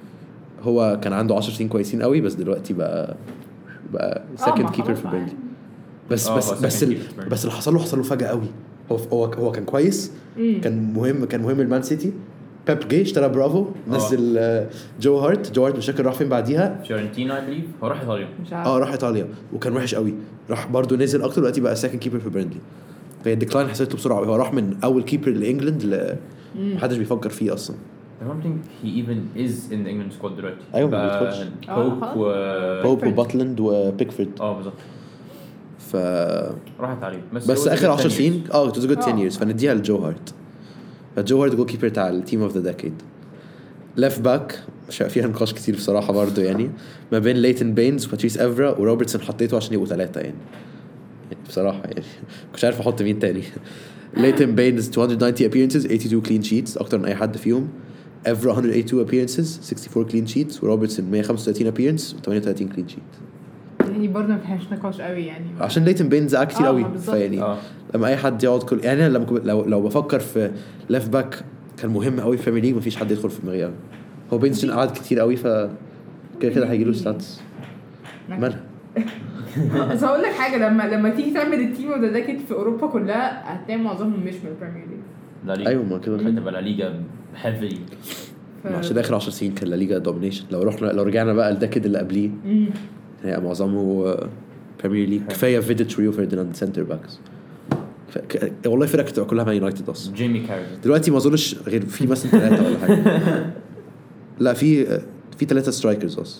هو كان عنده عشر سنين كويسين قوي بس دلوقتي بقى بقى سكند كيبر في بيرنلي. بس بس بس ال... بس اللي حصل له حصل له فجأة قوي. هو هو هو كان كويس مم. كان مهم كان مهم المان سيتي. بيب جه اشترى برافو نزل أوه. جو هارت جو هارت مش فاكر راح فين بعديها فيورنتينا اي بليف هو راح ايطاليا اه راح ايطاليا وكان وحش قوي راح برضو نزل اكتر دلوقتي بقى سكند كيبر في بيرنلي. فهي الديكلاين حسيته بسرعه هو راح من اول كيبر لانجلند ل محدش بيفكر فيه اصلا. I don't think he even is in the England squad دلوقتي. ايوه ما بيدخلش. بوب و بوب وباتلاند وبيكفورد. اه بالظبط. ف راحت عليه بس, بس اخر عشر سنين اه it was a good ten years فنديها لجو هارت. فجو هارت جول كيبر تاع التيم اوف ذا ديكيد. ليفت باك فيها نقاش كتير بصراحه برضه يعني ما بين ليتن بينز وباتريس افرا وروبرتسون حطيته عشان يبقوا ثلاثه يعني. يعني بصراحه يعني مش عارف احط مين تاني. ليتن بينز two hundred ninety appearances eighty-two clean sheets اكتر من اي حد فيهم. افرا one hundred eighty-two appearances sixty-four clean sheets وروبرتسون one hundred fifty-five appearance و thirty-eight clean sheets. يعني برضه ما فيهاش نقاش قوي يعني عشان ليتن بينز اه كتير قوي فيعني آه. لما اي حد يقعد كل يعني لما لو لو بفكر في ليفت باك كان مهم قوي في البريمير ليج مفيش حد يدخل في دماغي قوي. هو بينز قعد كتير قوي ف كده كده هيجي له ستاتس مالها. بس هقول لك حاجه لما لما تيجي تعمل التيم وده ده كده في اوروبا كلها هتلاقي معظمهم مش من البريمير ليج. ايوه ما كده هتبقى لا ليجا هيفي ف... عشان اخر عشر سنين كان لا ليجا دومينيشن. لو رحنا لو رجعنا بقى لدكد اللي قبليه هي معظمه بريمير ليج. كفايه فيديتش ريو فرديناند سنتر باكس ف... ك... والله فرقه كلها مان يونايتد اصلا. جيمي كاري دلوقتي ما اظنش غير في مثلا ثلاثه ولا حاجه. لا في في ثلاثه سترايكرز اصلا.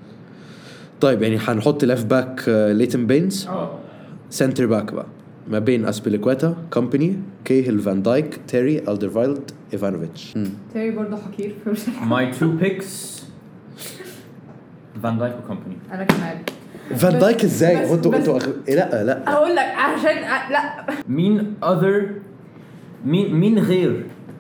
طيب يعني هنحط ليفت باك ليتن بينز سنتر باك بقى ما بين اسبيليكويتا كومباني كيهل فان دايك تيري الدرفايلد ايفانوفيتش. تيري برضه حقير ماي تو بيكس فان دايك وكومباني. انا كمان فان دايك ازاي انتوا انتوا لا لا اقول لك عشان لا مين اذر مين مين غير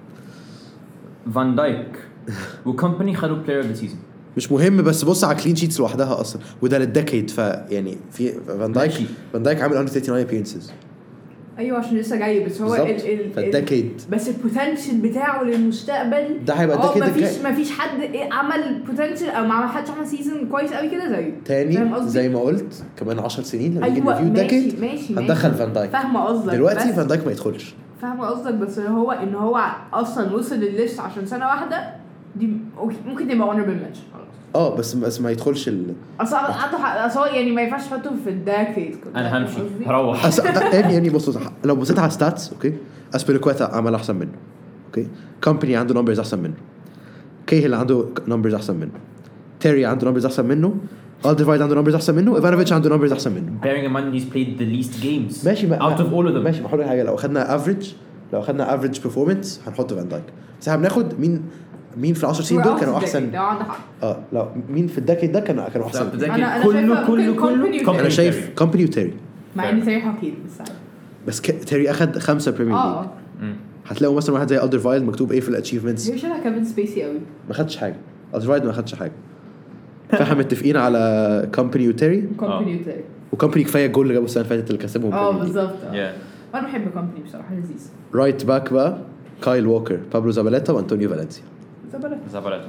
فان دايك وكومباني خدوا بلاير اوف ذا سيزون. مش مهم بس بص على كلين شيتس لوحدها اصلا وده للديكيد فيعني في فان دايك فان دايك عامل one thirty-nine appearances. ايوه عشان لسه جاي بس هو الديكيد بس البوتنشال بتاعه للمستقبل ده هيبقى الديكيد ما فيش ما فيش حد عمل بوتنشال او ما حدش عمل سيزون كويس قوي كده زيه تاني زي ما قلت كمان عشر سنين لما أيوة يجي ريفيو الديكيد ماشي هندخل فان دايك. فاهمه قصدك دلوقتي فان دايك ما يدخلش. فاهمه قصدك بس هو ان هو اصلا وصل للليست عشان سنه واحده دي ممكن تبقى honorable mention خلاص. اه بس بس ما يدخلش ال اصلا عنده اصلا يعني ما ينفعش تحطه في الداكيد. انا همشي هروح أس... يعني يعني بص لو بصيت على ستاتس اوكي اسبيليكويتا عمل احسن منه اوكي كومباني عنده نمبرز احسن منه كيهل عنده نمبرز احسن منه تيري عنده نمبرز احسن منه الدرفايلد عنده نمبرز احسن منه ايفانوفيتش عنده نمبرز احسن منه. bearing in mind he's played the least games ماشي ما... out of all of them. ماشي بحاول حاجه لو اخدنا افريج لو اخدنا افريج بيرفورمانس هنحط فان دايك بس احنا بناخد مين مين في العشر سنين دول كانوا احسن. اه لا مين في الدكيد ده كانوا كانوا احسن. أنا كله كله كله انا شايف كومباني وتيري مع ان تيري حقير بس بس ك... تيري اخد خمسه بريمير ليج. اه هتلاقوا مثلا واحد زي الدرفايلد مكتوب ايه في الاتشيفمنتس هي شبه كيفن سبيسي قوي ما خدش حاجه. الدرفايلد ما خدش حاجه. فاحنا متفقين على كومباني وتيري كومباني وتيري وكومباني كفايه جول اللي جابه السنه اللي فاتت اللي كسبهم. اه بالظبط. انا بحب كومباني بصراحه لذيذ. رايت باك بقى كايل ووكر بابلو زاباليتا وانطونيو فالنسيا. زبالة زبالته.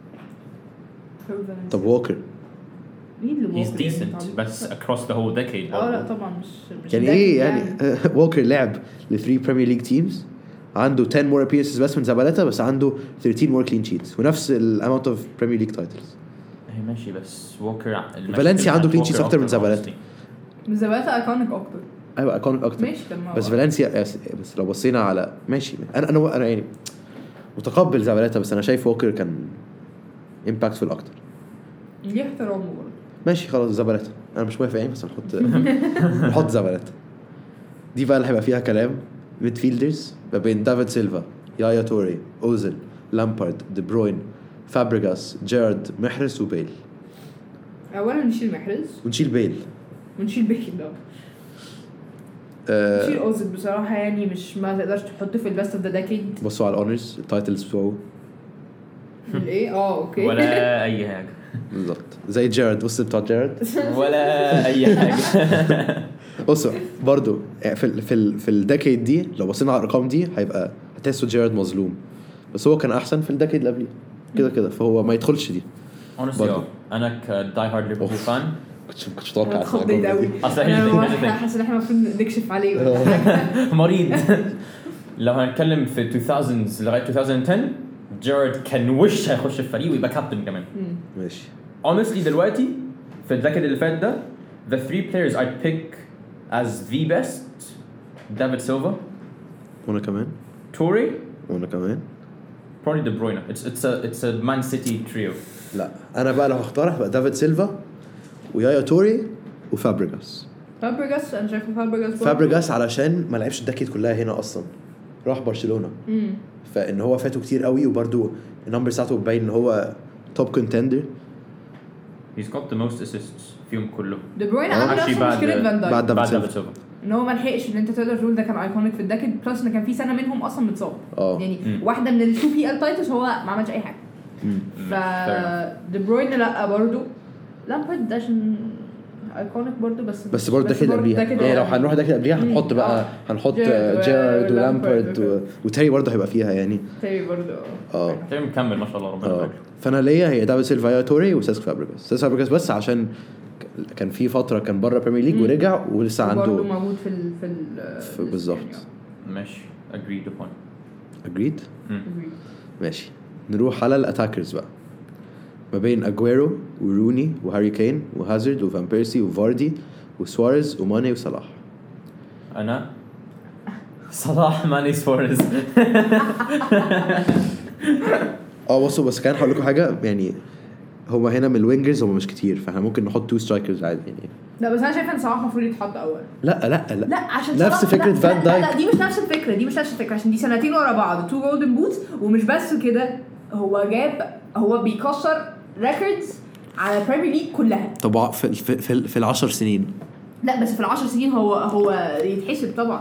طب ووكر مين اللي He's decent بس across the whole decade. اه لا طبعا مش مش يعني ايه يعني ووكر لعب ل three Premier League teams عنده ten more appearances بس من زبالته بس عنده thirteen more clean sheets ونفس ال amount of Premier League titles. هي ماشي بس ووكر فالنسيا عنده clean sheets أكتر من زبالته. من زبالته ايكونيك اكتر. ايوه ايكونيك اكتر. ماشي بس فالنسيا بس لو بصينا على ماشي انا انا انا يعني متقبل زبالته بس انا شايف ووكر كان impactful اكتر. ليه احترامه برضه. ماشي خلاص زبالته انا مش موافق يعني بس نحط نحط زبالته. دي بقى اللي هيبقى فيها كلام. ميدفيلدرز ما بين دافيد سيلفا يايا توري اوزيل لامبارد دي بروين فابريغاس جيرارد محرز وبيل. اولا نشيل محرز ونشيل بيل ونشيل بيل ده أه نشيل اوزيل بصراحه يعني مش ما تقدرش تحطه في البيست اوف ذا ديكيد. بصوا على الاونرز التايتلز بتوعه الايه اه اوكي ولا اي حاجه بالظبط زي جيرارد. بص بتاع جيرارد ولا اي حاجه. بصوا برضو في ال في ال في الديكيد دي لو بصينا على الارقام دي هيبقى هتحسوا جيرارد مظلوم بس هو كان احسن في الديكيد اللي قبليه كده كده فهو ما يدخلش دي. honestly انا كداي هارد ليفربول فان كنتش كنتش متوقع اتخضيت قوي. انا حاسس ان احنا المفروض نكشف عليه مريض. لو هنتكلم في two thousands لغايه twenty ten جيرارد كان وش هيخش الفريق ويبقى كابتن كمان. ماشي honestly دلوقتي في الديكيد اللي فات ده the three players I'd pick as the best David Silva وانا كمان Toure وانا كمان probably De Bruyne. it's it's a it's a Man City trio. لا انا بقى لو هختار هبقى دافيد سيلفا ويايا توري وفابريغاس. فابريغاس انا شايفه فابريغاس فابريغاس علشان ما لعبش الدكيت كلها هنا اصلا راح برشلونه امم فان هو فاته كتير قوي وبرده النمبر بتاعته باين ان هو توب كونتندر. he's got the most assists فيهم كله. دي بروين آه. عنده Actually نفس بعد- مشكله فان بعد دايك بعد دافيد دافيد سيلفا سيلفا. ان هو ما لحقش ان انت تقدر تقول ده كان ايكونيك في الدكت بلس ان كان في سنه منهم اصلا متصاب. اه يعني مم. واحده من التو بي ال تايتلز هو ما عملش اي حاجه. ف دي بروين لا برضه لامبارد ده عشان ايكونيك برضه بس بس برضه ده كده قبليها يعني لو هنروح ده كده قبليها هنحط بقى هنحط جيرارد جيرارد ولامبارد ولامبارد وتيري برضه هيبقى فيها يعني تاني برضه اه تيري مكمل ما شاء الله ربنا اه يبارك. فانا ليا هي دافيد سيلفا يا توري وسيسك فابريغاس. سيسك فابريغاس بس عشان ك- كان في فتره كان بره بريمير ليج مم. ورجع ولسه برضه عنده موجود في ال في ال في- بالظبط. ماشي agreed upon. اجريد مم. ماشي. نروح على الاتاكرز بقى ما بين اجويرو وروني وهاري كين وهازارد وفان بيرسي وفاردي وسواريز وماني وصلاح. انا صلاح ماني سواريز. اه بصوا بس كان هقول لكم حاجه يعني هما هنا من الوينجرز هما مش كتير فاحنا ممكن نحط تو سترايكرز عادي يعني. لا بس انا شايفه ان صلاح المفروض يتحط اول. لا لا لا لا عشان نفس صلاح- فكرة لا- فان لا- دايك. لا دي مش نفس الفكره دي مش نفس الفكره عشان دي سنتين ورا بعض تو جولدن بوتس ومش بس كده هو جاب هو بيكسر ريكوردز على البريمير ليج كلها. طب في في في, في العشر سنين لا بس في العشر سنين هو هو يتحسب طبعا.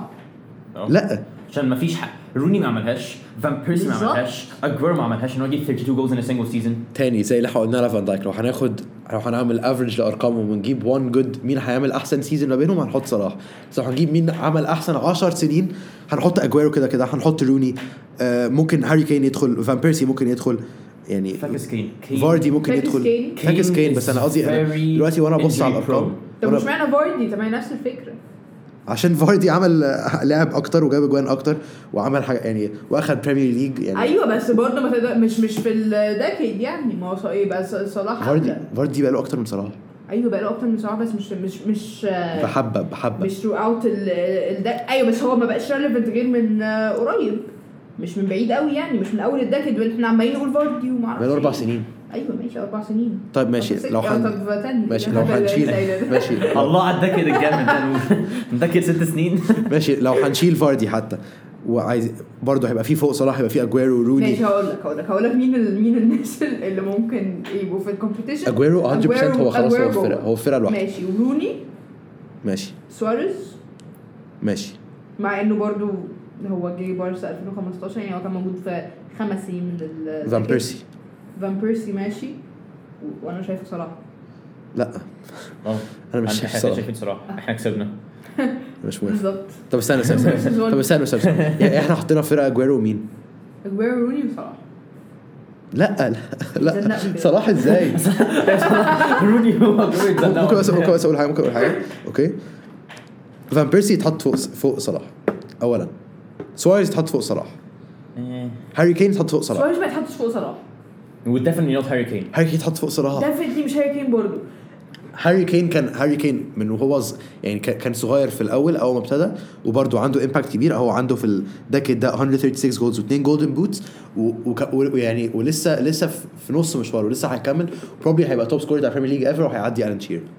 لا عشان ما فيش حق روني ما عملهاش فان بيرسي ما بالظبط. عملهاش اجويرو ما عملهاش انه يجيب thirty-two goals in a single season. تاني زي اللي احنا قلنا على فان دايك لو هناخد لو هنعمل افريج لارقامهم ونجيب وان جود مين هيعمل احسن سيزون ما بينهم هنحط صلاح. بس لو هنجيب مين عمل احسن عشر سنين هنحط اجويرو كده كده هنحط روني آه ممكن هاري كين يدخل فان بيرسي ممكن يدخل يعني فاكس كين كين فاردي ممكن فاكس يدخل كين. فاكس كين بس انا قصدي أنا very دلوقتي وانا ابص على injury الارقام طب وأنا- مش معنى فاردي طب ما هي نفس الفكره. عشان فاردي عمل آه، لعب اكتر وجاب اجوان اكتر وعمل حاجه يعني واخد بريمير ليج يعني ايوه بس برضه ما تقدر مش مش في الديكيد يعني ما هو ايه بس صلاح فاردي أحلى. فاردي بقى له اكتر من صلاح ايوه بقى له اكتر من صلاح بس مش مش مش بحبه بحبه مش ثرو اوت ال ال ايوه بس هو ما بقاش ريليفنت غير من آه، قريب مش من بعيد قوي يعني مش من اول الديكيد واحنا عمالين نقول فاردي وما اعرفش بقى له اربع إيه. سنين. ايوه ماشي اربع سنين. طيب ماشي طب لو ست- حن... طب تاني ماشي كده. لو هنشيل ماشي الله على الدكد الجامد ده مدكد ست سنين. ماشي لو هنشيل فاردي حتى وعايز برضه هيبقى فيه فوق صلاح هيبقى فيه اجويرو وروني. ماشي هقول لك هقول لك هقول لك مين ال- مين الناس اللي ممكن يبقوا في الكومبيتيشن. اجويرو one hundred percent هو خلاص هو الفرقه هو الفرقه لوحده. ماشي وروني ماشي سواريز ماشي مع انه برضو هو جه بارسا ألفين وخمستاشر يعني هو كان موجود في خمس سنين من ال فان بيرسي فان بيرسي ماشي و- وانا شايفه صلاح. لا اه انا مش احنا شايف صلاح شايفين صراحه احنا كسبنا. مش موافق. بالظبط. طب استنى استنى استنى. طب استنى استنى يعني احنا حطينا فرقه اجويرو ومين اجويرو روني وصلاح. لا لا لا صلاح ازاي روني هو ممكن بس ممكن بس اقول حاجه ممكن اقول حاجه اوكي فان بيرسي يتحط فوق فوق صلاح اولا سواريز يتحط فوق صلاح هاري كين يتحط فوق صلاح سواريز ما يتحطش فوق صلاح وديفنتلي نوت هاري كين هاري كين يتحط فوق صلاح ديفنتلي مش هاري كين برضه هاري كين كان هاري كين من وهو يعني كان صغير في الاول اول ما ابتدى وبرده عنده امباكت كبير هو عنده في الدكيد ده مية وستة وثلاثين جولز واثنين جولدن بوتس ويعني ولسه لسه في نص مشواره ولسه هيكمل بروبلي هيبقى توب سكورر بتاع البريمير ليج ايفر وهيعدي الان شير.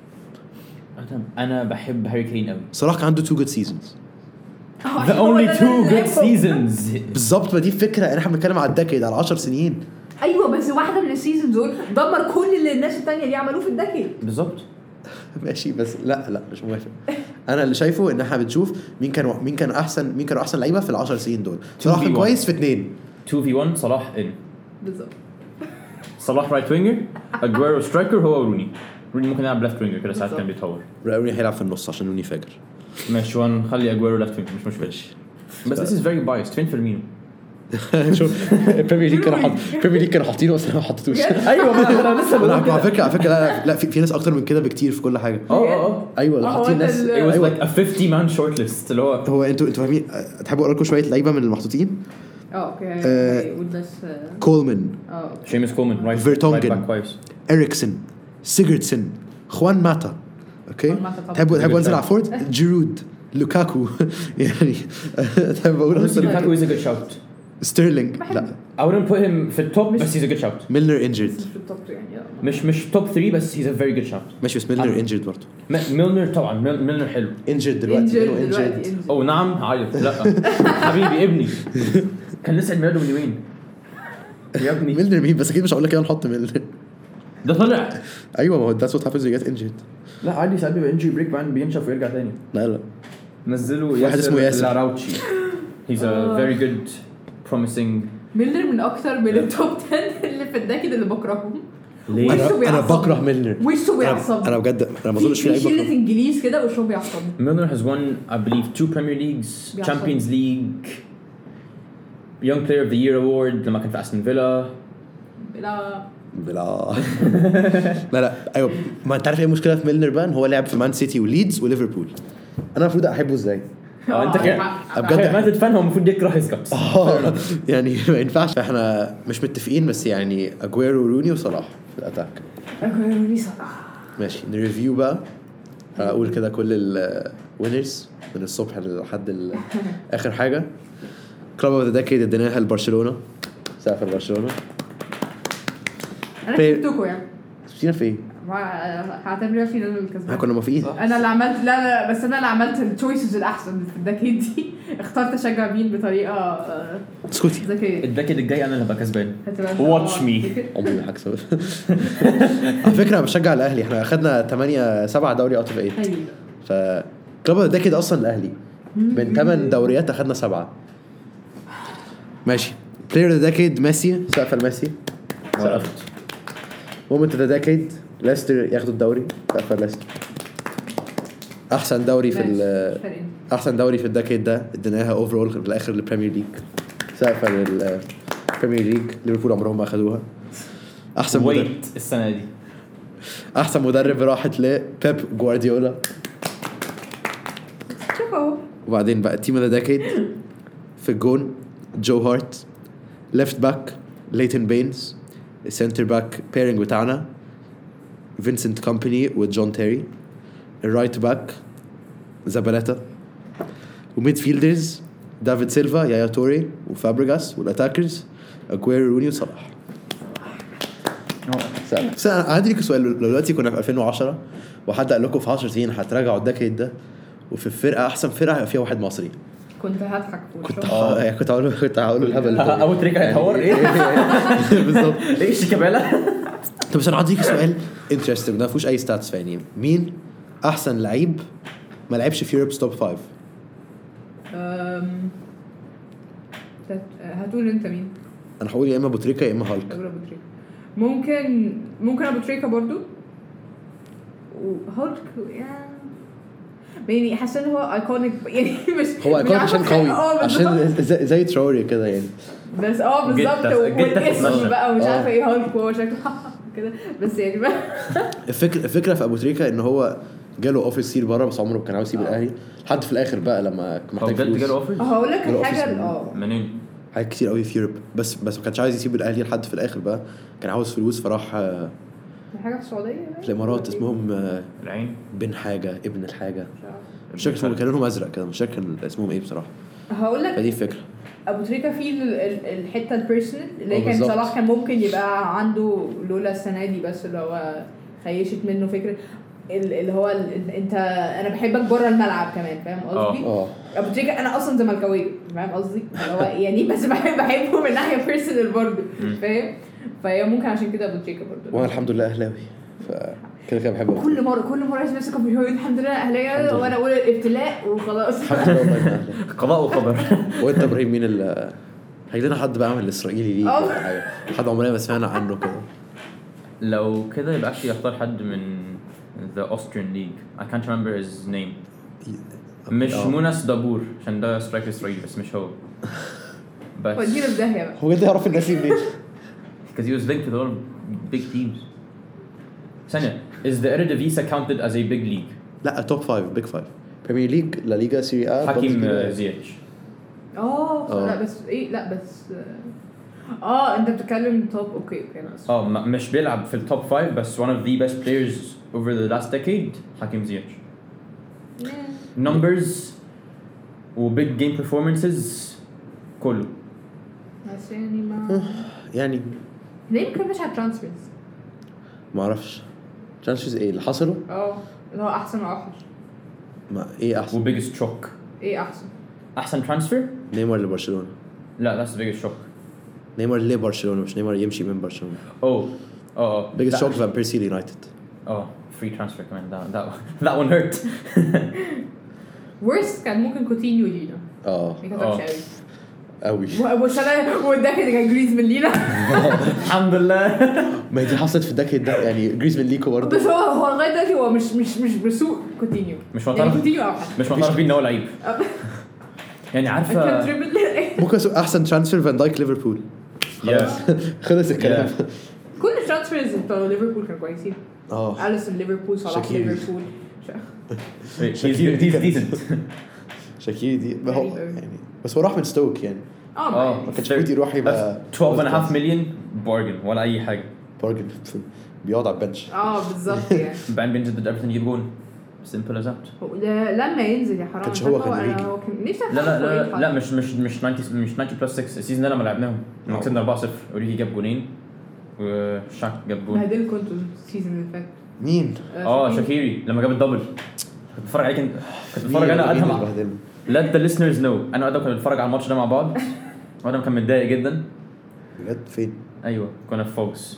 انا بحب هاري كين قوي صلاح كان عنده two good seasons the only two good seasons بالظبط. ما دي الفكره احنا بنتكلم على الدكيد على عشر سنين. ايوه بس واحده من السيزونز دول دمر كل اللي الناس التانية دي عملوه في الدكيد بالظبط. ماشي بس لا لا مش موافق. انا اللي شايفه ان احنا بنشوف مين كان مين كان احسن مين كانوا احسن لعيبه في العشر سنين دول. صلاح كان كويس في اثنين two في one صلاح ان بالظبط. صلاح رايت وينجر اجويرو سترايكر هو روني روني ممكن يلعب ليفت وينجر كده ساعات كان بيتطور. روني هيلعب في النص عشان روني فاجر. ماشي ونخلي اجويرو ليفت وينجر مش مشكله بس this is very biased. فين فيرمينو؟ شوف البريمير ليج كانوا حاطين البريمير ليج كانوا حاطينه بس انا ما حطيتوش. ايوه انا لسه بقول على فكره على فكره لا لا في, في ناس اكتر من كده بكتير في كل حاجه. اه اه ايوه حاطين ناس it was like a fifty man short list اللي هو هو انتوا انتوا فاهمين. تحبوا اقول لكم شويه لعيبه من المحطوطين؟ اه اوكي والناس كولمان اه شيمس كولمان رايت فيرتونجن كويس اريكسن سيجرتسن خوان ماتا. اوكي تحبوا تحبوا انزل على فورد جيرود لوكاكو يعني تحب اقول لوكاكو is a good shout. ستيرلينج لا I wouldn't put him في التوب بس he's a good shout. ميلنر انجرد مش مش توب three بس he's a very good shout. ماشي بس ميلنر انجرد برضه. ميلنر طبعا ميلنر حلو انجرد دلوقتي انجرد او نعم عيط لا حبيبي ابني كان لسه ميلاده من يومين يا ابني. ميلنر مين بس اكيد مش هقول لك انا نحط ميلنر ده طلع. ايوه ما هو that's what happens when you get injured. لا عادي ساعات بيبقى انجري بريك بعدين بينشف ويرجع تاني. لا لا نزلوا واحد اسمه ياسر لاراوتشي he's a very good promising. ميلنر من اكتر من التوب عشرة اللي في الدكيد اللي بكرههم. ليه؟ انا انا بكره ميلنر وشه بيعصبني. انا بجد انا ما اظنش في لعيب شله انجليز كده وشه بيعصبني. ميلنر has won I believe two Premier Leagues Champions League Young Player of the Year award لما كان في أستون فيلا. لا بلا لا لا ايوه ما انت عارف ايه المشكله في ميلنر بان هو لعب في مان سيتي وليدز وليفربول. انا المفروض احبه ازاي؟ اه انت كده بجد ما تتفهم هو المفروض يكره هيز كابس يعني ما ينفعش. احنا مش متفقين بس يعني اجويرو وروني وصلاح في الاتاك. اجويرو وروني صلاح ماشي نريفيو بقى. اقول كده كل الوينرز من الصبح لحد اخر حاجه. كلوب اوف ذا ديكيد اديناها لبرشلونه سقف برشلونه. انا كسبتكم يعني كسبتينا في ايه؟ هعتبر نفسي انا اللي كسبان. كنا موافقين. انا اللي عملت لا لا بس انا اللي عملت التشويسز الاحسن في الدكيد دي. اخترت اشجع مين بطريقه اسكتي ذكيه. الدكيد الجاي انا اللي هبقى كسبان. واتش مي. عمري ما هكسب. على فكره انا بشجع الاهلي. احنا اخدنا ثمانية سبعة دوري اوت اوف ثمانية. ف كلوب ده كده اصلا الاهلي من ثمان دوريات اخدنا سبعة. ماشي بلاير ذا ديكيد ميسي سقف الميسي سقفت. مومنت ذا ديكيد ليستر ياخدوا الدوري سقف ليستر. احسن دوري في احسن دوري في الديكيد ده اديناها اوفرول في الاخر للبريمير ليج سقف البريمير ليج. ليفربول عمرهم ما اخدوها. احسن مدرب السنه دي احسن مدرب راحت لبيب جوارديولا. وبعدين بقى تيم ذا ديكيد في الجون جو هارت. ليفت باك ليتن بينز. السنتر باك بيرنج بتاعنا فينسنت كومباني وجون تيري. الرايت باك زاباليتا. وميد فيلدرز دافيد سيلفا يايا توري وفابريغاس. والاتاكرز اجويرو روني وصلاح. بس انا عندي لك سؤال. لو دلوقتي كنا في ألفين وعشرة وحد قال لكم في عشر سنين هتراجعوا الدكيد ده وفي الفرقه احسن فرقه فيها واحد مصري كنت هضحك كنت اه كنت هقول كنت هقول الهبل ده اول تريكه هيتهور ايه بالظبط ايش كباله. طب بس انا عندي سؤال انترستنج ما فيهوش اي ستاتس فاني. مين احسن لعيب ما لعبش في يوروب's توب فايف؟ امم هتقول انت مين؟ انا هقول يا اما ابو تريكه يا اما هالك. ممكن ممكن ابو تريكه برضو وهالك يعني حاسس ان هو ايكونيك يعني مش هو ايكونيك عشان قوي عشان زي, زي تراوري كده يعني بس اه بالظبط جدا- جدا والاسم تتمشى. بقى ومش آه. عارفه ايه هالك وهو شكله كده بس يعني بقى الفكره الفكره في ابو تريكه ان هو جاله اوفر كتير بره بس عمره ما كان عاوز يسيب آه. الاهلي لحد في الاخر بقى لما هو محتاج بجد فلوس جاله اوفرز هقول لك جاله الحاجه offers ال- من- اه منين؟ حاجات كتير قوي في يوروب بس بس ما كانش عايز يسيب الاهلي لحد في الاخر بقى كان عاوز فلوس فراح آه، حاجه في السعوديه باين؟ في الامارات اسمهم آه، العين بن حاجه ابن الحاجه مش عارفة. مش فاكر اسمهم كان لونهم ازرق كده مش فاكر اسمهم ايه بصراحه هقول لك فدي الفكره ابو تريكه فيه ال- ال- الحته البيرسونال اللي اه كان بالظبط. صلاح كان ممكن يبقى عنده لولا السنه دي بس اللي هو خيشت منه فكره ال- اللي هو ال- انت انا بحبك بره الملعب كمان فاهم قصدي؟ اه ابو تريكه انا اصلا زملكاويه فاهم قصدي؟ اللي هو يعني بس بحب بحبه من ناحيه بيرسونال برضه فاهم؟ فهي ممكن عشان كده ابو تريكه برضه وانا الحمد لله اهلاوي فكده كده بحب أبو كل مره كل مره اسمع كان بيقول الحمد لله الحمد اهلاويه لله. وانا اقول الابتلاء وخلاص الحمد لله والله إني أهلاوي. قضاء وقدر. وانت ابراهيم مين ال هيجي لنا حد بقى عامل الاسرائيلي ليك اه. ولا حاجه حد عمرنا ما سمعنا عنه كده لو كده يبقى actually اختار حد من the Austrian league. I can't remember his name. مش اه. مونس دابور عشان ده سترايكر اسرائيلي بس مش هو. بس ودينا في داهيه بقى هو بجد يعرف الناس دي منين؟ because he was linked with all big teams. ثانية, is the Eredivisie counted as a big league? لا توب فايف بيج فايف بريمير ليج لا ليجا سيري ا حكيم زيتش. اه اه. لا بس ايه لا بس اه انت بتتكلم توب اوكي اوكي بس اه م- مش بيلعب في التوب فايف بس one of the best players over the last decade حكيم زيتش. numbers و big game performances كله. بس يعني ما يعني ليه ما كناش على ترانسفيرز ما اعرفش ترانسفيرز ايه اللي حصلوا اه اللي هو احسن واوحش ما ايه و احسن biggest shock. ايه احسن احسن transfer؟ نيمار لبرشلونه لا that's the biggest shock. نيمار لبرشلونه مش نيمار يمشي من برشلونه oh اه اه بيجست لا. شوك فان بيرسي يونايتد اه free transfer كمان that that that one hurt. ورست كان ممكن كوتينيو لينا اه ما اه. كتبش قوي قوي والسنه والداخل كان جريزمان لينا الحمد لله. ما هي دي حصلت في الدكه ده يعني جريزمان ليكو برضه بس هو هو لغايه دلوقتي هو مش مش مش بسوق كوتينيو مش يعني معترف كوتينيو اوحش مش معترف بيه ان هو لعيب يعني كان عارفه. تريبل ممكن أسوق احسن ترانسفير فان دايك ليفربول خلاص خلص الكلام كل الترانسفيرز بتوع ليفربول كانوا كويسين اه اليسون ليفربول صلاح شاكيري. ليفربول he's he's decent. شاكيري دي ما هو غريب أوي. يعني بس هو راح من ستوك يعني اه اه ما كانش المفروض يروح يبقى twelve and a half million bargain ولا اي حاجه. بارجن بيقعد على البنش اه بالظبط يعني بعدين بينزل ضد ايفرتون يجيب جون simple as that. هو ده لما ينزل يا حرام كانش مش هو عارفة كان أنا- يجي. هو كان نفسي لا لا أفهم هو إيه لا الحل. لا مش مش مش تسعين مش تسعين بلس ستة السيزون ده لما لعبناهم لما اه. كسبنا أربعة صفر اوريجي جاب جونين وشاك جاب جون. بهدلكوا انتوا السيزون اللي فات مين؟ اه شاكيري لما جاب الدبل كنت بتفرج عليه كنت كنت بتفرج انا مين ادهم اللي بهدله؟ let the listeners know انا وادهم كنا بنتفرج على الماتش ده مع بعض وادهم كان متضايق جدا. بجد فين؟ ايوه كنا في فوكس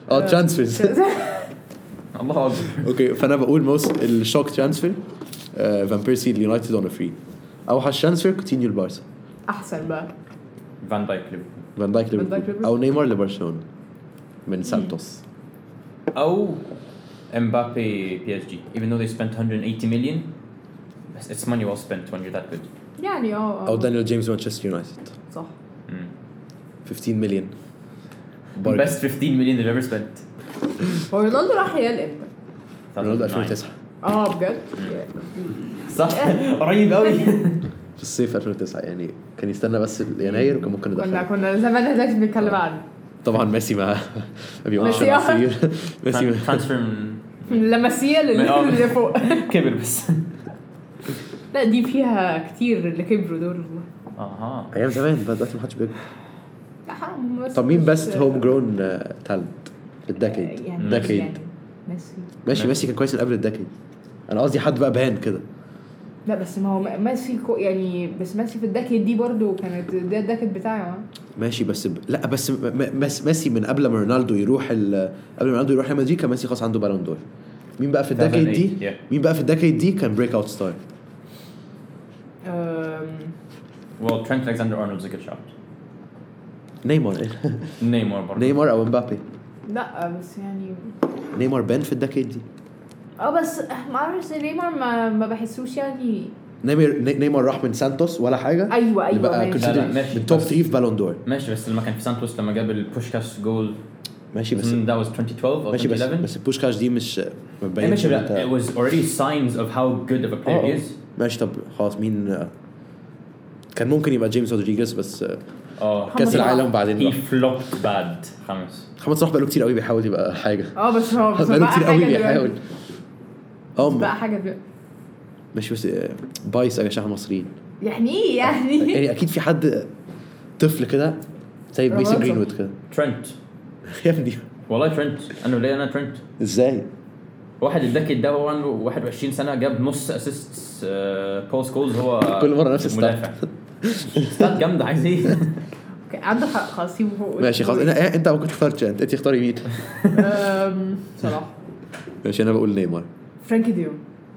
اه ترانسفيرز. الله اكبر. اوكي فانا بقول موست الشوك ترانسفير فان بيرسي اليونايتد اون فري. اوحش ترانسفير كوتينيو البارسا. احسن بقى فان دايك ليفربول فان دايك فان دايك ليفربول ليفربول. او نيمار لبرشلونه من سانتوس. او امبابي بي اس جي even though they spent one hundred eighty million بس it's money well spent when you're that good. يعني اه او دانيال جيمس مانشستر يونايتد صح. fifteen مليون. best fifteen million they've ever spent. هو رونالدو راح ريال امتى؟ رونالدو ألفين وتسعة اه بجد صح قريب قوي. في الصيف ألفين وتسعة يعني كان يستنى بس يناير وكان ممكن كنا ندخل. كنا زمان دلوقتي بنتكلم عنه. طبعا ميسي ما ما بيقعدش ميسي مع آه. السرير. ميسي ترانسفير من لمسيه آه. اللي فوق. كبر بس. لا دي فيها كتير اللي كبروا دول والله. اها ايام زمان بقى دلوقتي ما حدش بيكبر. لا حرام. بس طب مين مش- بست هوم جرون تالنت الديكيد؟ يعني ديكيد يعني ميسي. ماشي ميسي كان كويس من قبل الديكيد. انا قصدي حد بقى بان كده. لا بس ما هو ميسي كو يعني بس ميسي في الدكت دي برضو كانت ده الدكت بتاعه. ماشي بس ب... لا بس م... م... ميسي من قبل ما رونالدو يروح ال... قبل ما رونالدو يروح ريال مدريد كان ميسي خلاص عنده بالون دور. مين بقى في الديكيد دي؟ yeah. مين بقى في الديكيد دي كان بريك اوت ستار؟ well Trent Alexander-Arnold's a good shot. نيمار. نيمار برضه. نيمار او امبابي. لا بس يعني نيمار بان في الديكيد دي. اه بس ما اعرفش نيمار ما ما بحسوش يعني. نيمار نيمار راح من سانتوس ولا حاجه. ايوه ايوه بقى ماشي. لا، لا، ماشي. من توب بس- ثلاثة في بالون دور. ماشي بس لما كان في سانتوس لما جاب البوشكاس جول ماشي بس that was twenty twelve or ماشي بس twenty eleven. بس البوشكاش دي مش ما إيه بينش ماشي إن لا, it was already signs of how good of a player آه، he is. ماشي. طب خلاص مين كان ممكن يبقى جيمس رودريجيز بس اه كاس العالم he بعدين flopped bad. خمس. محمد صلاح بقاله كتير قوي بيحاول يبقى حاجه. اه بس هو بس بقاله بقى كتير قوي حاجه بيحاول. دلوقتي. اه بقى حاجه دلوقتي. ماشي بس بايس يا جماعه المصريين يعني ايه يعني؟ يعني اكيد في حد طفل كده زي ميسي رونالدو. جرينوود كده. ترنت يا ابني والله ترنت انا ليه انا ترنت ازاي؟ واحد الدكت ده هو عنده واحد وعشرين سنه جاب نص اسيست بوست جولز هو كل مرة نفس الستات. مدافع. ستات جامده عايز ايه؟ اوكي عنده حق خلاص سيبه فوق. ماشي خلاص انا انت ممكن تختار تشانت انت اختاري مين؟ أم، صلاح. ماشي انا بقول نيمار. فرانكي ديون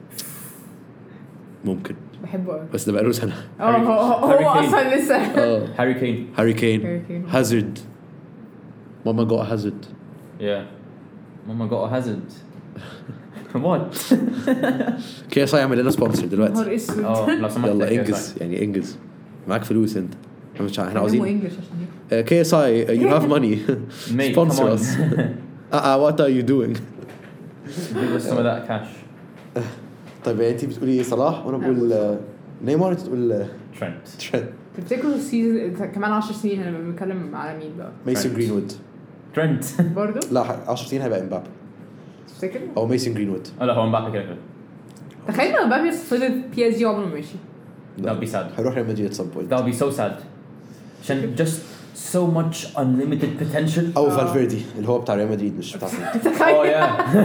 ممكن بحبه قوي. بس ده بقاله سنه. اه هو هو هاري هو كين. اصلا لسه. اه هاري كين. هاري كين هاري كين. هازارد. ماما جو هازارد. يا ماما جو هازارد. وات كده صايع يعمل لنا سبونسر دلوقتي. نهار اسود. اه لو سمحت يلا يا انجز يعني انجز معاك فلوس انت. احنا مش احنا كلمه عاوزين انجلش عشان كي اس اي يو هاف ماني Mate, sponsor come on. us. اه وات ار يو دوينج. give us some of that cash. طيب انت بتقولي صلاح وانا بقول آه، نيمار انت تقول آه، ترنت. ترينت. تفتكروا السيزون كمان عشر سنين هنبقى بنتكلم على مين بقى؟ ميسون Trent. جرينوود. ترنت. برضه؟ لا عشر سنين هيبقى امبابي تفتكر؟ او ميسون جرينوود. لا هو مبابي كده كده. تخيل لو مبابي فضل بي اس جي عمره ما مشي. That'll be sad. هيروح ريال مدريد at some point. That'll be so sad. عشان just so much unlimited potential. او آه. فالفيردي اللي هو بتاع ريال مدريد مش بتاع سيتي. Oh yeah.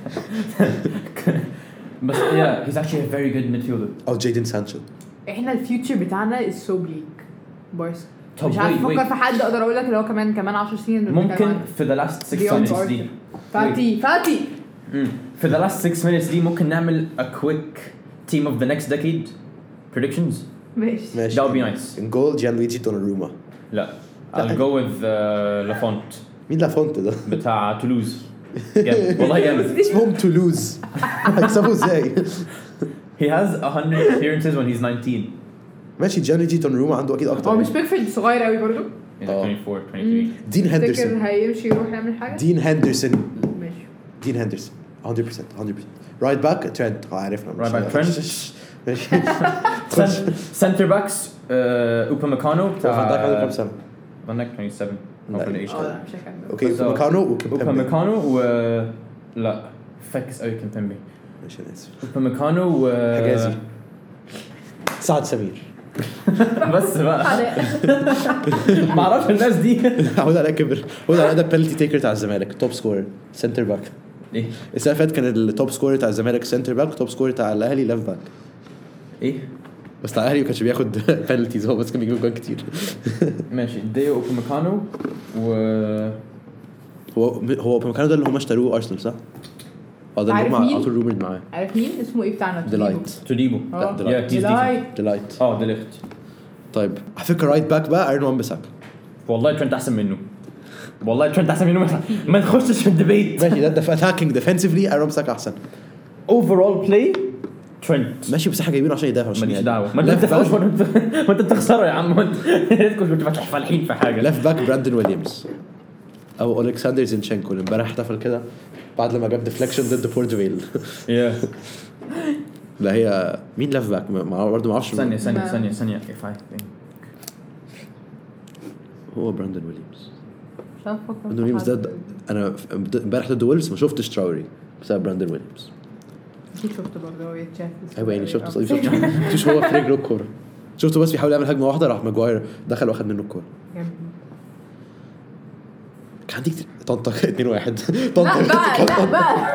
بس yeah, he's actually a very good midfielder. او جيدن سانشو. احنا الفيوتشر بتاعنا is so bleak. بارسا. طب مش عارف wait, افكر wait. في حد اقدر اقول لك اللي هو كمان كمان عشر سنين اللي بنتكلم ممكن عنه. في the last six Beyond minutes Arthur. دي. فاتي فاتي. Mm. في the last six minutes دي ممكن نعمل a quick team of the next decade predictions. ماشي. ماشي. That would be nice. ان جول جانلويجي دوناروما. لا. I'll go with uh, لافونت مين لافونت ده؟ بتاع تولوز. جامد. والله جامد. اسمهم تولوز. هيكسبوا ازاي؟ He has one hundred appearances when he's nineteen. ماشي جانلويجي دوناروما عنده اكيد اكتر. هو مش بيكفورد صغير قوي برضه. He's like Oh. twenty-four, twenty-three. دين تفتكر هندرسون. هيمشي يروح يعمل حاجه؟ دين هندرسون. ماشي. دين هندرسون one hundred percent one hundred percent رايت باك ترينت عارفنا. Right back Trent. ماشي. Center backs uh, اوباميكانو فان دايك عنده كام بتاع سنة؟ فان دايك twenty-seven. لا. Not for the age اه tag. لا مش هكمل. اوكي بس- اوباميكانو وكيمبيمبي. اوباميكانو و لا فاكس قوي كيمبيمبي. ماشي انا اسف. اوباميكانو و حجازي. سعد سمير. بس بقى ما اعرفش الناس دي. عود عليها كبر. عود عليها ده بينالتي تيكر بتاع الزمالك توب سكورر سنتر باك. ايه السنه اللي فاتت كان التوب سكورر بتاع الزمالك سنتر باك توب سكورر بتاع الاهلي ليفت باك. ايه بس بتاع الاهلي ما كانش بياخد بينالتيز هو بس كان بيجيب جوان كتير. ماشي ديو اوباميكانو و هو هو بمكانه ده اللي هم اشتروه ارسنال صح؟ اه ده اللي عارف هم مين؟ على طول رومرد معاه. عارف مين اسمه ايه بتاعنا؟ ديلايت توديبو اه ديلايت. ديلايت ديلايت اه ديليخت. طيب على فكره رايت باك بقى ايرون وان بيساكا. والله ترنت احسن منه والله ترنت احسن منه ما- ما تخشش في الديبيت. ماشي ده ده في اتاكينج ديفنسيفلي ايرون بيساكا احسن. اوفرول بلاي ترنت ماشي بس احنا جايبينه عشان يدافع عشان ماليش يعني. دعوه ما انت ليفت بتفهمش باك ما انت بتخسره يا عم وانت كنت بتفتح فالحين في حاجه. ليفت باك براندون ويليامز او الكسندر زينشينكو اللي امبارح احتفل كده بعد لما جاب ديفليكشن ضد بورتفيل. يا لا هي مين ليفت باك ما برضه ما اعرفش. ثانيه ثانيه ما- ثانيه ثانيه if I think. هو براندون ويليامز. مش عارفه افكر براندون ويليامز ده ده- انا امبارح ضد ويلز ما شفتش تراوري بسبب براندون ويليامز. اكيد شفت برضه هو يتشاف. ايوه يعني شفت شفت شفت هو في رجله الكوره شفته بس بيحاول يعمل هجمه واحده راح ماجواير دخل واخد منه الكوره. كان عندي كتير طنطا اتنين واحد لا بقى لا بقى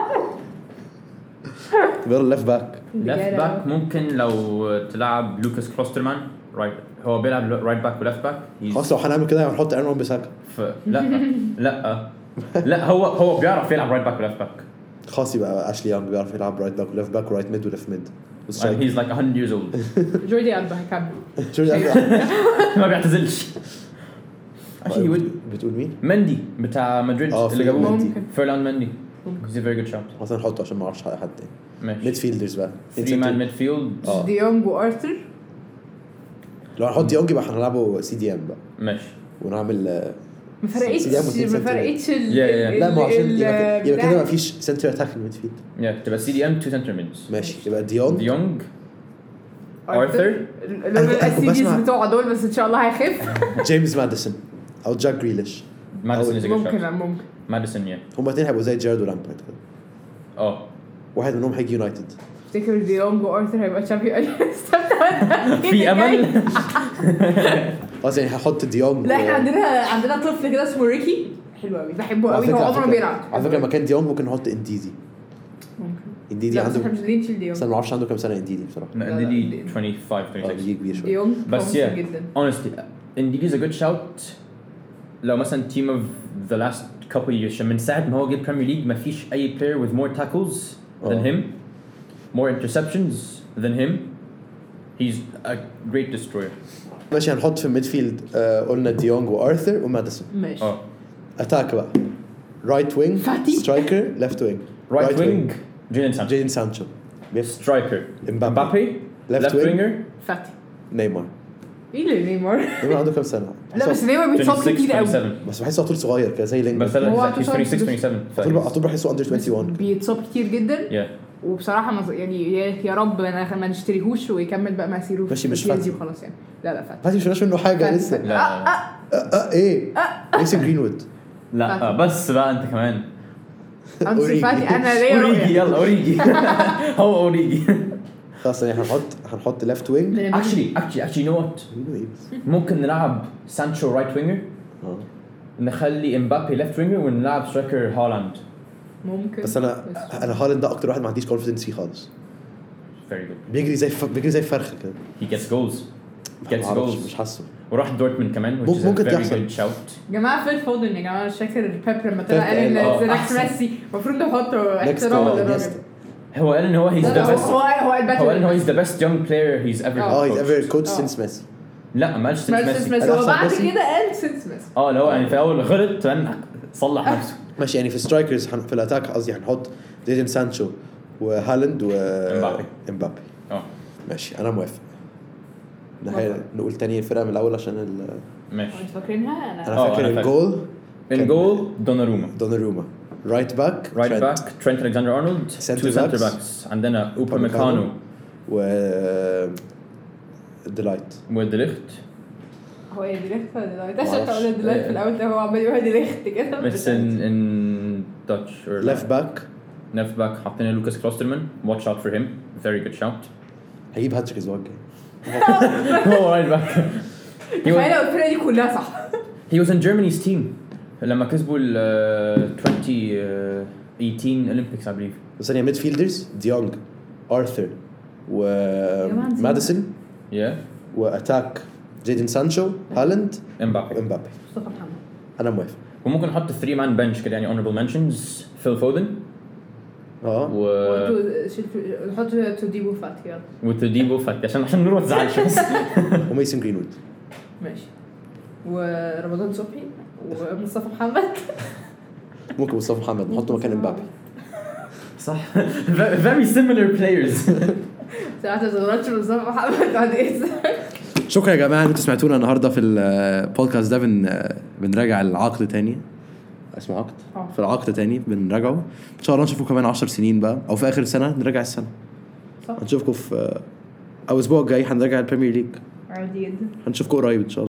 بيقول ليفت باك. ليفت باك ممكن لو تلعب لوكاس كلوسترمان رايت هو بيلعب رايت باك وليفت باك. خلاص لو هنعمل كده هنحط ايرون وان بيساكا. ف... لا لا لا هو هو بيعرف يلعب رايت باك وليفت باك. خلاص يبقى اشلي يانج بيعرف يلعب رايت باك وليفت باك ورايت ميد وليفت ميد. and he's like one hundred years old. جوردي ألبا هكمل. شو ما بيعتزلش. actually he would بتقول مين؟ مندي بتاع مدريد اه اللي جابوه ممكن. فيرلاند مندي. he's a very good shot. مثلا نحطه عشان ما اعرفش حد تاني. ميد ماشي فيلدرز بقى three man midfield. اه. دي يونج وارثر. لو هنحط ديونج يبقى هنلعبه سي دي ام بقى ماشي ونعمل ما فرقتش سيدي أبو اتنين ما سنتر. فرقتش ال- يا- يا. ال- لا ما هو عشان ال- يبقى يبقى بتاع- كده ما فيش سنتر اتاك ميد فيلد. yeah تبقى سي دي ام two center mids. ماشي يبقى ديونج ديونج ارثر لولا الاسيديز بسمع- بتوع دول بس ان شاء الله هيخف. جيمس ماديسون او جاك جريليش. ماديسون is a good ممكن shot. ممكن ماديسون yeah هما الاثنين هيبقوا زي جيرارد ولامبرد كده. اه واحد منهم هيجي يونايتد. افتكر دي يونج وارثر هيبقى تشامبيون. في امل. خلاص يعني هحط ديونج. لا احنا عندنا عندنا طفل كده اسمه ريكي حلو قوي بحبه على قوي هو فكرة- على عمره ما فكرة- بيلعب. على فكره لما كان ديونج ممكن نحط انديزي. ممكن. انديدي لا بس عنده احنا مش قادرين نشيل دي بس يونج. انا ما اعرفش عنده كام سنه انديدي بصراحه. No, لا، لا، Ndidi دي- twenty-five اه twenty-six. بيجي كبير دي شويه. يونج بس promising yeah جدا. honestly Ndidi is a good shout. لو مثلا team of the last couple years عشان من ساعة ما هو جه Premier League ما فيش أي player with more tackles than اه. him, more interceptions than him. He's a great destroyer. ماشي هنحط في الميدفيلد آه قلنا ديونج وارثر وماديسون. ماشي اه اتاك بقى رايت وينج فاتي. سترايكر ليفت وينج. right wing Jadon Sancho. جيدن سانشو. striker امبابي. Mbappe Left left wing. winger فاتي نيمار. ايه اللي نيمار؟ نيمار عنده كام سنه؟ لا بس نيمار بيتصاب twenty-six كتير قوي. twenty-seven. بس بحسه على طول صغير كده زي لينج. بس هو لا he's عنده twenty-six twenty-seven. على طول على طول بحسه اندر واحد وعشرين. بيتصاب كتير جدا yeah وبصراحه ما يعني يا- يا رب ما ما نشتريهوش ويكمل بقى مسيره في ماشي، مش البي إس جي فاتي. وخلاص يعني. لا لا فاتي فاتي مش شفناش منه حاجه فاتي. لسه. آه، لا آه، اه اه ايه ميسن جرينوود. لا فاتي. بس بقى انت كمان أنسو أوريجي. فاتي انا ليا اوريجي رؤيه. يلا اوريجي. هو اوريجي. خلاص يعني هنحط هنحط ليفت وينج. actually actually actually you know what ممكن نلعب سانشو رايت وينجر اه نخلي امبابي ليفت وينجر ونلعب سترايكر هالاند. ممكن بس انا انا هالاند ده اكتر واحد ما عنديش كونفيدنس فيه خالص. very good بيجري زي ف... بيجري زي فرخه كده. he gets goals he gets معرفش، goals مش حاسه. وراح دورتموند كمان which is a ممكن very تحصل. good shout. يا جماعه فيل فودن يا جماعه مش فاكر بيب لما طلع قال بيب ان قال، ذا آه، نكست أحسن. ميسي المفروض نحطه Next احترام to للراجل. Iniesta. هو قال ان هو he's لا، the لا، best هو هو الباتل هو قال ان هو he's the best young player he's ever آه. اه هيز coached. ايفر كوتش آه. سينس ميسي. لا ما قالش since ميسي ميسي. ميسي قال هو أحسن بعد ميسي؟ كده قال سينس ميسي. اه اللي هو يعني في الاول غلط بعدين صلح نفسه. ماشي يعني في سترايكرز في الاتاك قصدي هنحط جيدن سانشو وهالاند و إمبابي. امبابي. اه ماشي انا موافق. نهاية موافق. نقول تاني الفرقه من الاول عشان ال... ماشي. مش فاكرينها انا. انا آه، فاكر أنا فاكر. الجول in goal دوناروما. دوناروما. رايت باك right back Trent Alexander-Arnold. Center two center backs. backs عندنا Upamecano. Upamecano و ديلايت. وديليخت. هو يا ديليخت ولا ديلايت؟ عشان معرفش. اقول ديلايت في الاول ده هو عمال يقول ديليخت كده. بس in in Dutch or ليفت باك left back حطينا لوكاس كلوسترمان. watch out for him very good shout. هيجيب هاتريك الاسبوع الجاي. هو right back. he تخيل was لو الفرقه دي كلها صح. he was in Germany's team لما كسبوا ال twenty eighteen Olympics I believe. ثانية ميد فيلدرز ديونج ارثر وماديسون yeah واتاك جيدن سانشو هالاند امبابي امبابي. مصطفى محمد. انا موافق. وممكن نحط ثري مان بنش كده يعني honorable mentions فيل فودن اه و نحط توديبو فات يلا وتديبو فات عشان عشان نور ما تزعلش بس وميسن جرينوود ماشي ورمضان صبحي ومصطفى محمد ممكن مصطفى محمد نحطه مكان امبابي صح very similar players ساعات تغلطش مصطفى محمد بعد ايه. شكرا يا جماعه ان انتوا سمعتونا النهارده في البودكاست ده. بن بنراجع العقد تاني اسمه عقد أوه. في العقد تاني بنراجعه ان شاء الله. نشوفكم كمان عشر سنين بقى او في اخر السنه نراجع السنه. صح. هنشوفكم في او الاسبوع الجاي هنراجع البريمير ليج. عادي جدا. هنشوفكم قريب ان شاء الله.